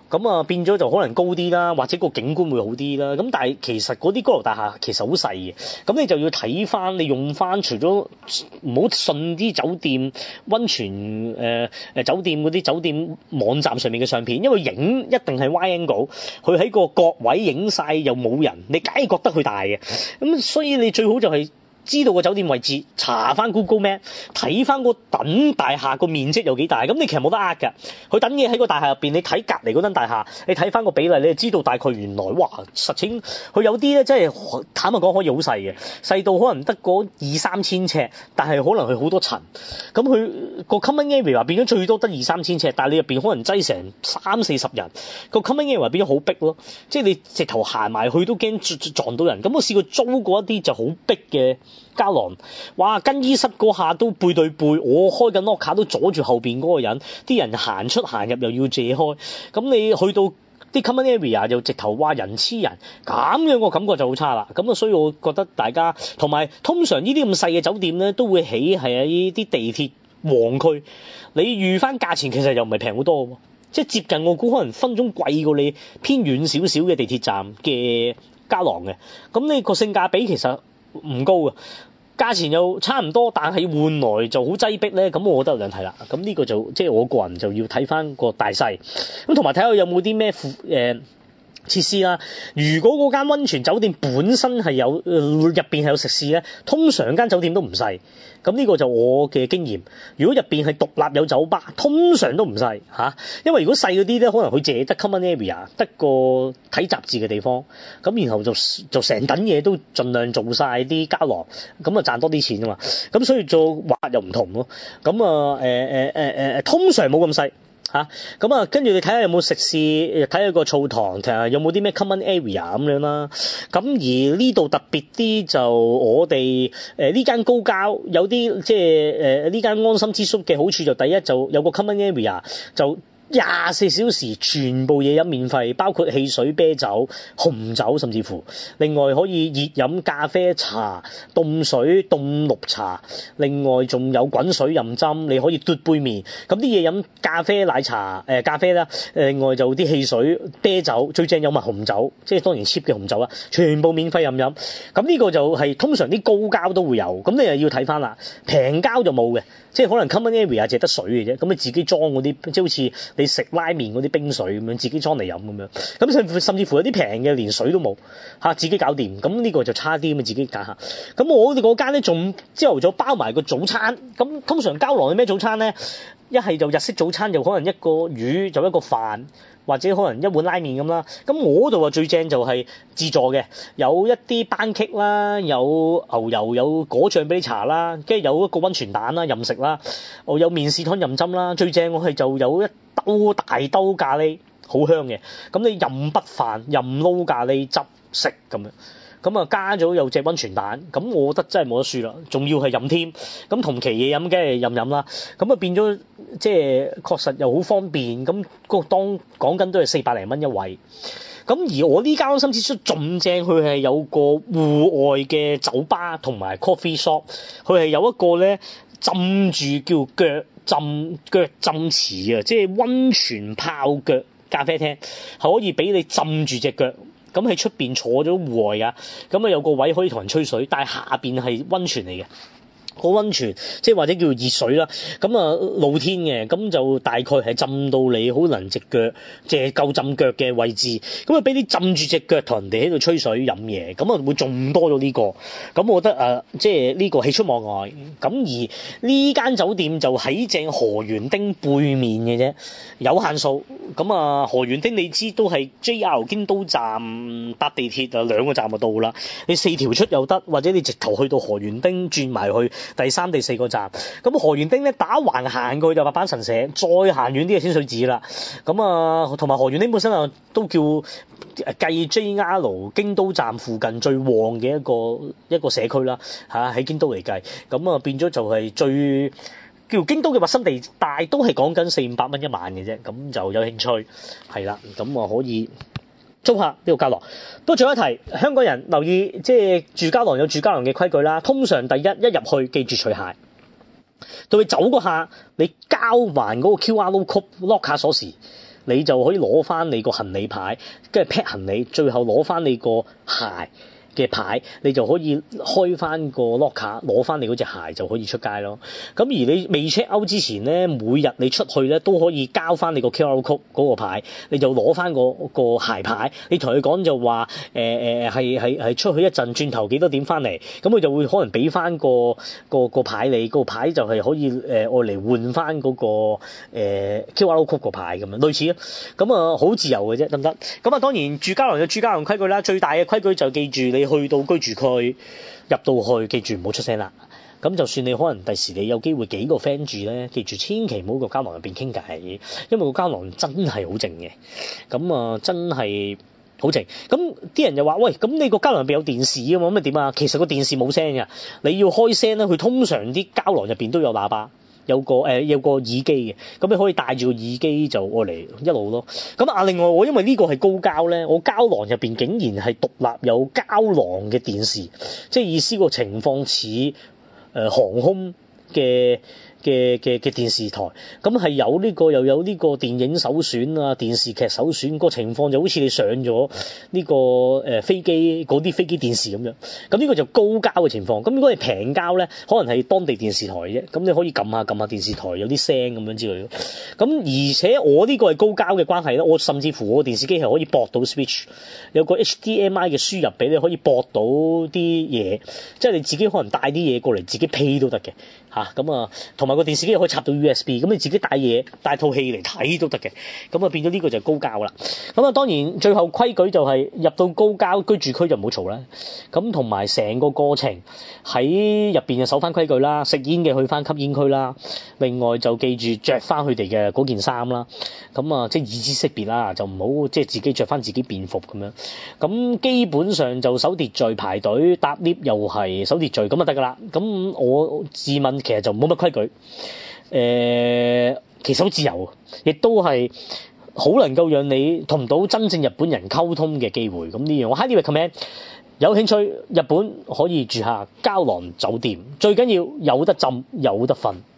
咁啊變咗就可能高啲啦，或者個景觀會好啲啦。咁但係其實嗰啲高樓大廈其實好細嘅，咁你就要睇翻，你用翻除咗唔好信啲酒店溫泉酒店嗰啲酒店網站上面嘅相片，因為影一定係 wide angle，佢喺個角位影晒又冇人，你梗係覺得佢大嘅。咁所以你最好就係知道個酒店位置，查翻 Google Map， 睇翻個等大廈個面積有幾大，咁你其實冇得呃㗎。佢等嘢喺個大廈入邊，你睇隔離嗰間大廈，你睇翻個比例，你就知道大概原來哇實情佢有啲咧，真係坦白講可以好細嘅，細到可能得嗰2-3千尺，但係可能佢好多層。咁佢個 common area 變咗最多得2-3千尺，但係你入邊可能擠成30-40人，個 common area 變咗好逼咯，即係你直頭行埋去都驚撞到人。咁我試過租過一啲就好逼嘅膠囊，哇！更衣室嗰下都背對背，我開緊 locker 都阻住後邊嗰個人，啲人行出行入又要借開，咁你去到啲 common area 又直頭哇人黐人，咁樣個感覺就好差啦。咁啊，所以我覺得大家同埋通常呢啲咁細嘅酒店咧，都會起係喺啲地鐵旺區，你預翻價錢其實又唔係平好多喎，即係接近我估可能分鐘貴過你偏遠少少嘅地鐵站嘅膠囊嘅，咁你個性價比其實唔高啊，價錢又差唔多，但係換來就好擠迫咧。咁我覺得有兩睇啦。咁呢個就即係我個人就要睇翻個大細，咁同埋睇下有冇啲咩設施啦。如果嗰間溫泉酒店本身係有入邊係有食肆咧，通常間酒店都唔細。咁呢個就我嘅經驗。如果入邊係獨立有酒吧，通常都唔細嚇。因為如果細嗰啲咧，可能佢淨係得 common area， 得個睇雜誌嘅地方。咁然後就成等嘢都盡量做晒啲膠囊，咁啊賺多啲錢啊嘛。咁所以做話又唔同咯。咁通常冇咁細。咁啊，跟住你睇下有冇食肆，睇下個澡堂，睇下有冇啲咩 common area 咁樣啦。咁而呢度特別啲就我哋呢間高交有啲即係呢間安心之宿嘅好處就第一就有個 common area 就24小時全部嘢飲免費，包括汽水、啤酒、紅酒，甚至乎另外可以熱飲咖啡、茶、凍水、凍綠茶，另外仲有滾水任斟，你可以嘟杯麵。咁啲嘢飲咖啡、奶茶、咖啡啦，另外就啲汽水、啤酒，最正有埋紅酒，即係當然 cheap 嘅紅酒啦，全部免費任飲。咁呢個就係通常啲高交都會有，咁你又要睇翻啦，平交就冇嘅。即係可能 common area 淨係得水嘅啫，咁你自己裝嗰啲，即係好似你食拉麵嗰啲冰水咁樣，自己裝嚟飲咁樣。咁甚至乎有啲平嘅連水都冇嚇，自己搞掂。咁呢個就差啲咁，自己揀下。咁我哋嗰間咧仲朝頭早包埋個早餐。咁通常膠囊係咩早餐咧？一係就日式早餐，就可能一個魚就一個飯，或者可能一碗拉麵咁啦。咁我度啊最正就係自助嘅，有一啲班戟啦，有牛油，有果醬俾你搽啦，跟住有一個溫泉蛋啦，任食啦，有麵豉湯任斟啦。最正我係就有一兜大兜咖喱，好香嘅。咁你任筆飯，任撈咖喱汁食咁樣。咁啊加咗有隻溫泉蛋，咁我覺得真係冇得輸啦，仲要係飲添，咁同期嘢飲梗係任飲啦，咁啊變咗即係確實又好方便，咁當講緊都係400零蚊一位，咁而我呢間安心之宿仲正，佢係有個戶外嘅酒吧同埋 coffee shop， 佢係有一個咧浸住叫腳浸池啊，即係溫泉泡腳咖啡廳，係可以俾你浸住隻腳。咁喺出邊坐咗戶外㗎，咁啊有個位可以同人吹水，但係下邊係溫泉嚟嘅。個溫泉即係或者叫熱水啦，咁啊露天嘅，咁就大概係浸到你可能隻腳即係夠浸腳嘅位置，咁啊俾你浸住隻腳同人哋喺度吹水飲嘢，咁啊會仲多咗呢個，咁我覺得即係呢個喜出望外。咁而呢間酒店就喺正河園町背面嘅啫，有限數。咁啊河園町你知都係 JR 京都站搭地鐵啊2個站就到啦，你4條出又得，或者你直頭去到河園町轉埋去第3、第4個站。咁河園町咧打橫行過去就白板神社，再行遠啲嘅天水寺啦。咁啊同埋河園町本身啊都叫繼 JR 京都站附近最旺嘅一個社區啦嚇，喺京都嚟計，咁啊變咗就係最叫京都嘅核心地帶，都係講緊400-500蚊一晚嘅啫。咁就有興趣係啦，咁啊可以租下呢個膠囊。不過仲有一提，香港人留意，即係住膠囊有住膠囊嘅規矩啦。通常第一入去記住除鞋，到你走嗰下你交還嗰個 QR code lock 卡鎖匙， 你就可以攞翻你個行李牌，跟住 pack 行李，最後攞翻你個鞋嘅牌，你就可以開翻個 locker 攞翻你嗰隻鞋就可以出街咯。咁而你未 check out 之前咧，每日你出去咧都可以交翻你個 QR code 嗰個牌，你就攞翻個鞋牌，你同佢講就話係出去一陣，轉頭幾多點翻嚟，咁佢就會可能俾翻個牌你，個牌就係可以愛嚟換翻嗰個QR code 個牌咁樣類似啊。咁啊好自由嘅啫，得唔得？咁啊當然住膠囊有住膠囊規矩啦，最大嘅規矩就記住你去到居住區入到去，記住唔好出聲啦。咁就算你可能第時你有機會幾個 friend 住咧，記住千祈唔好個膠囊入邊傾偈，因為個膠囊真係好靜嘅。咁啊真係好靜。咁啲人就話喂，咁你個膠囊入邊有電視啊嘛，咁咪點啊？其實個電視冇聲㗎，你要開聲咧，佢通常啲膠囊入邊都有喇叭。有個耳機嘅，咁你可以帶住個耳機就愛嚟一路咯。咁啊，另外我因為呢個係高膠咧，我膠囊入邊竟然係獨立有膠囊嘅電視，即係意思個情況似航空嘅電視台，咁係有呢個又有呢個電影首選啊，電視劇首選，個情況就好似你上咗呢個飛機嗰啲飛機電視咁樣。咁呢個就高膠嘅情況。咁如果係平膠咧，可能係當地電視台啫，咁你可以撳下電視台有啲聲咁樣之類。咁而且我呢個係高膠嘅關係咧，我甚至乎我電視機係可以駁到 switch， 有個 HDMI 嘅輸入俾你可以駁到啲嘢，即係你自己可能帶啲嘢過嚟自己配都得嘅嚇。咁啊同埋個電視機可以插到 USB， 咁你自己帶嘢帶套戲嚟睇都得嘅。咁啊變咗呢個就係高膠啦。咁啊當然最後規矩就係入到高膠居住區就唔好嘈啦。咁同埋成個過程喺入邊就守翻規矩啦，食煙嘅去翻吸煙區啦。另外就記住着翻佢哋嘅嗰件衫啦。咁啊即係以資識別啦，就唔好即係自己着翻自己便服咁樣。咁基本上就守秩序排隊搭 lift 又係守秩序咁就得㗎啦。咁我自問其實就冇乜規矩。其實好自由，亦都係好能夠讓你同到真正日本人溝通嘅機會。咁呢樣我 highly recommend，有興趣日本可以住下膠囊酒店，最緊要有得浸有得瞓。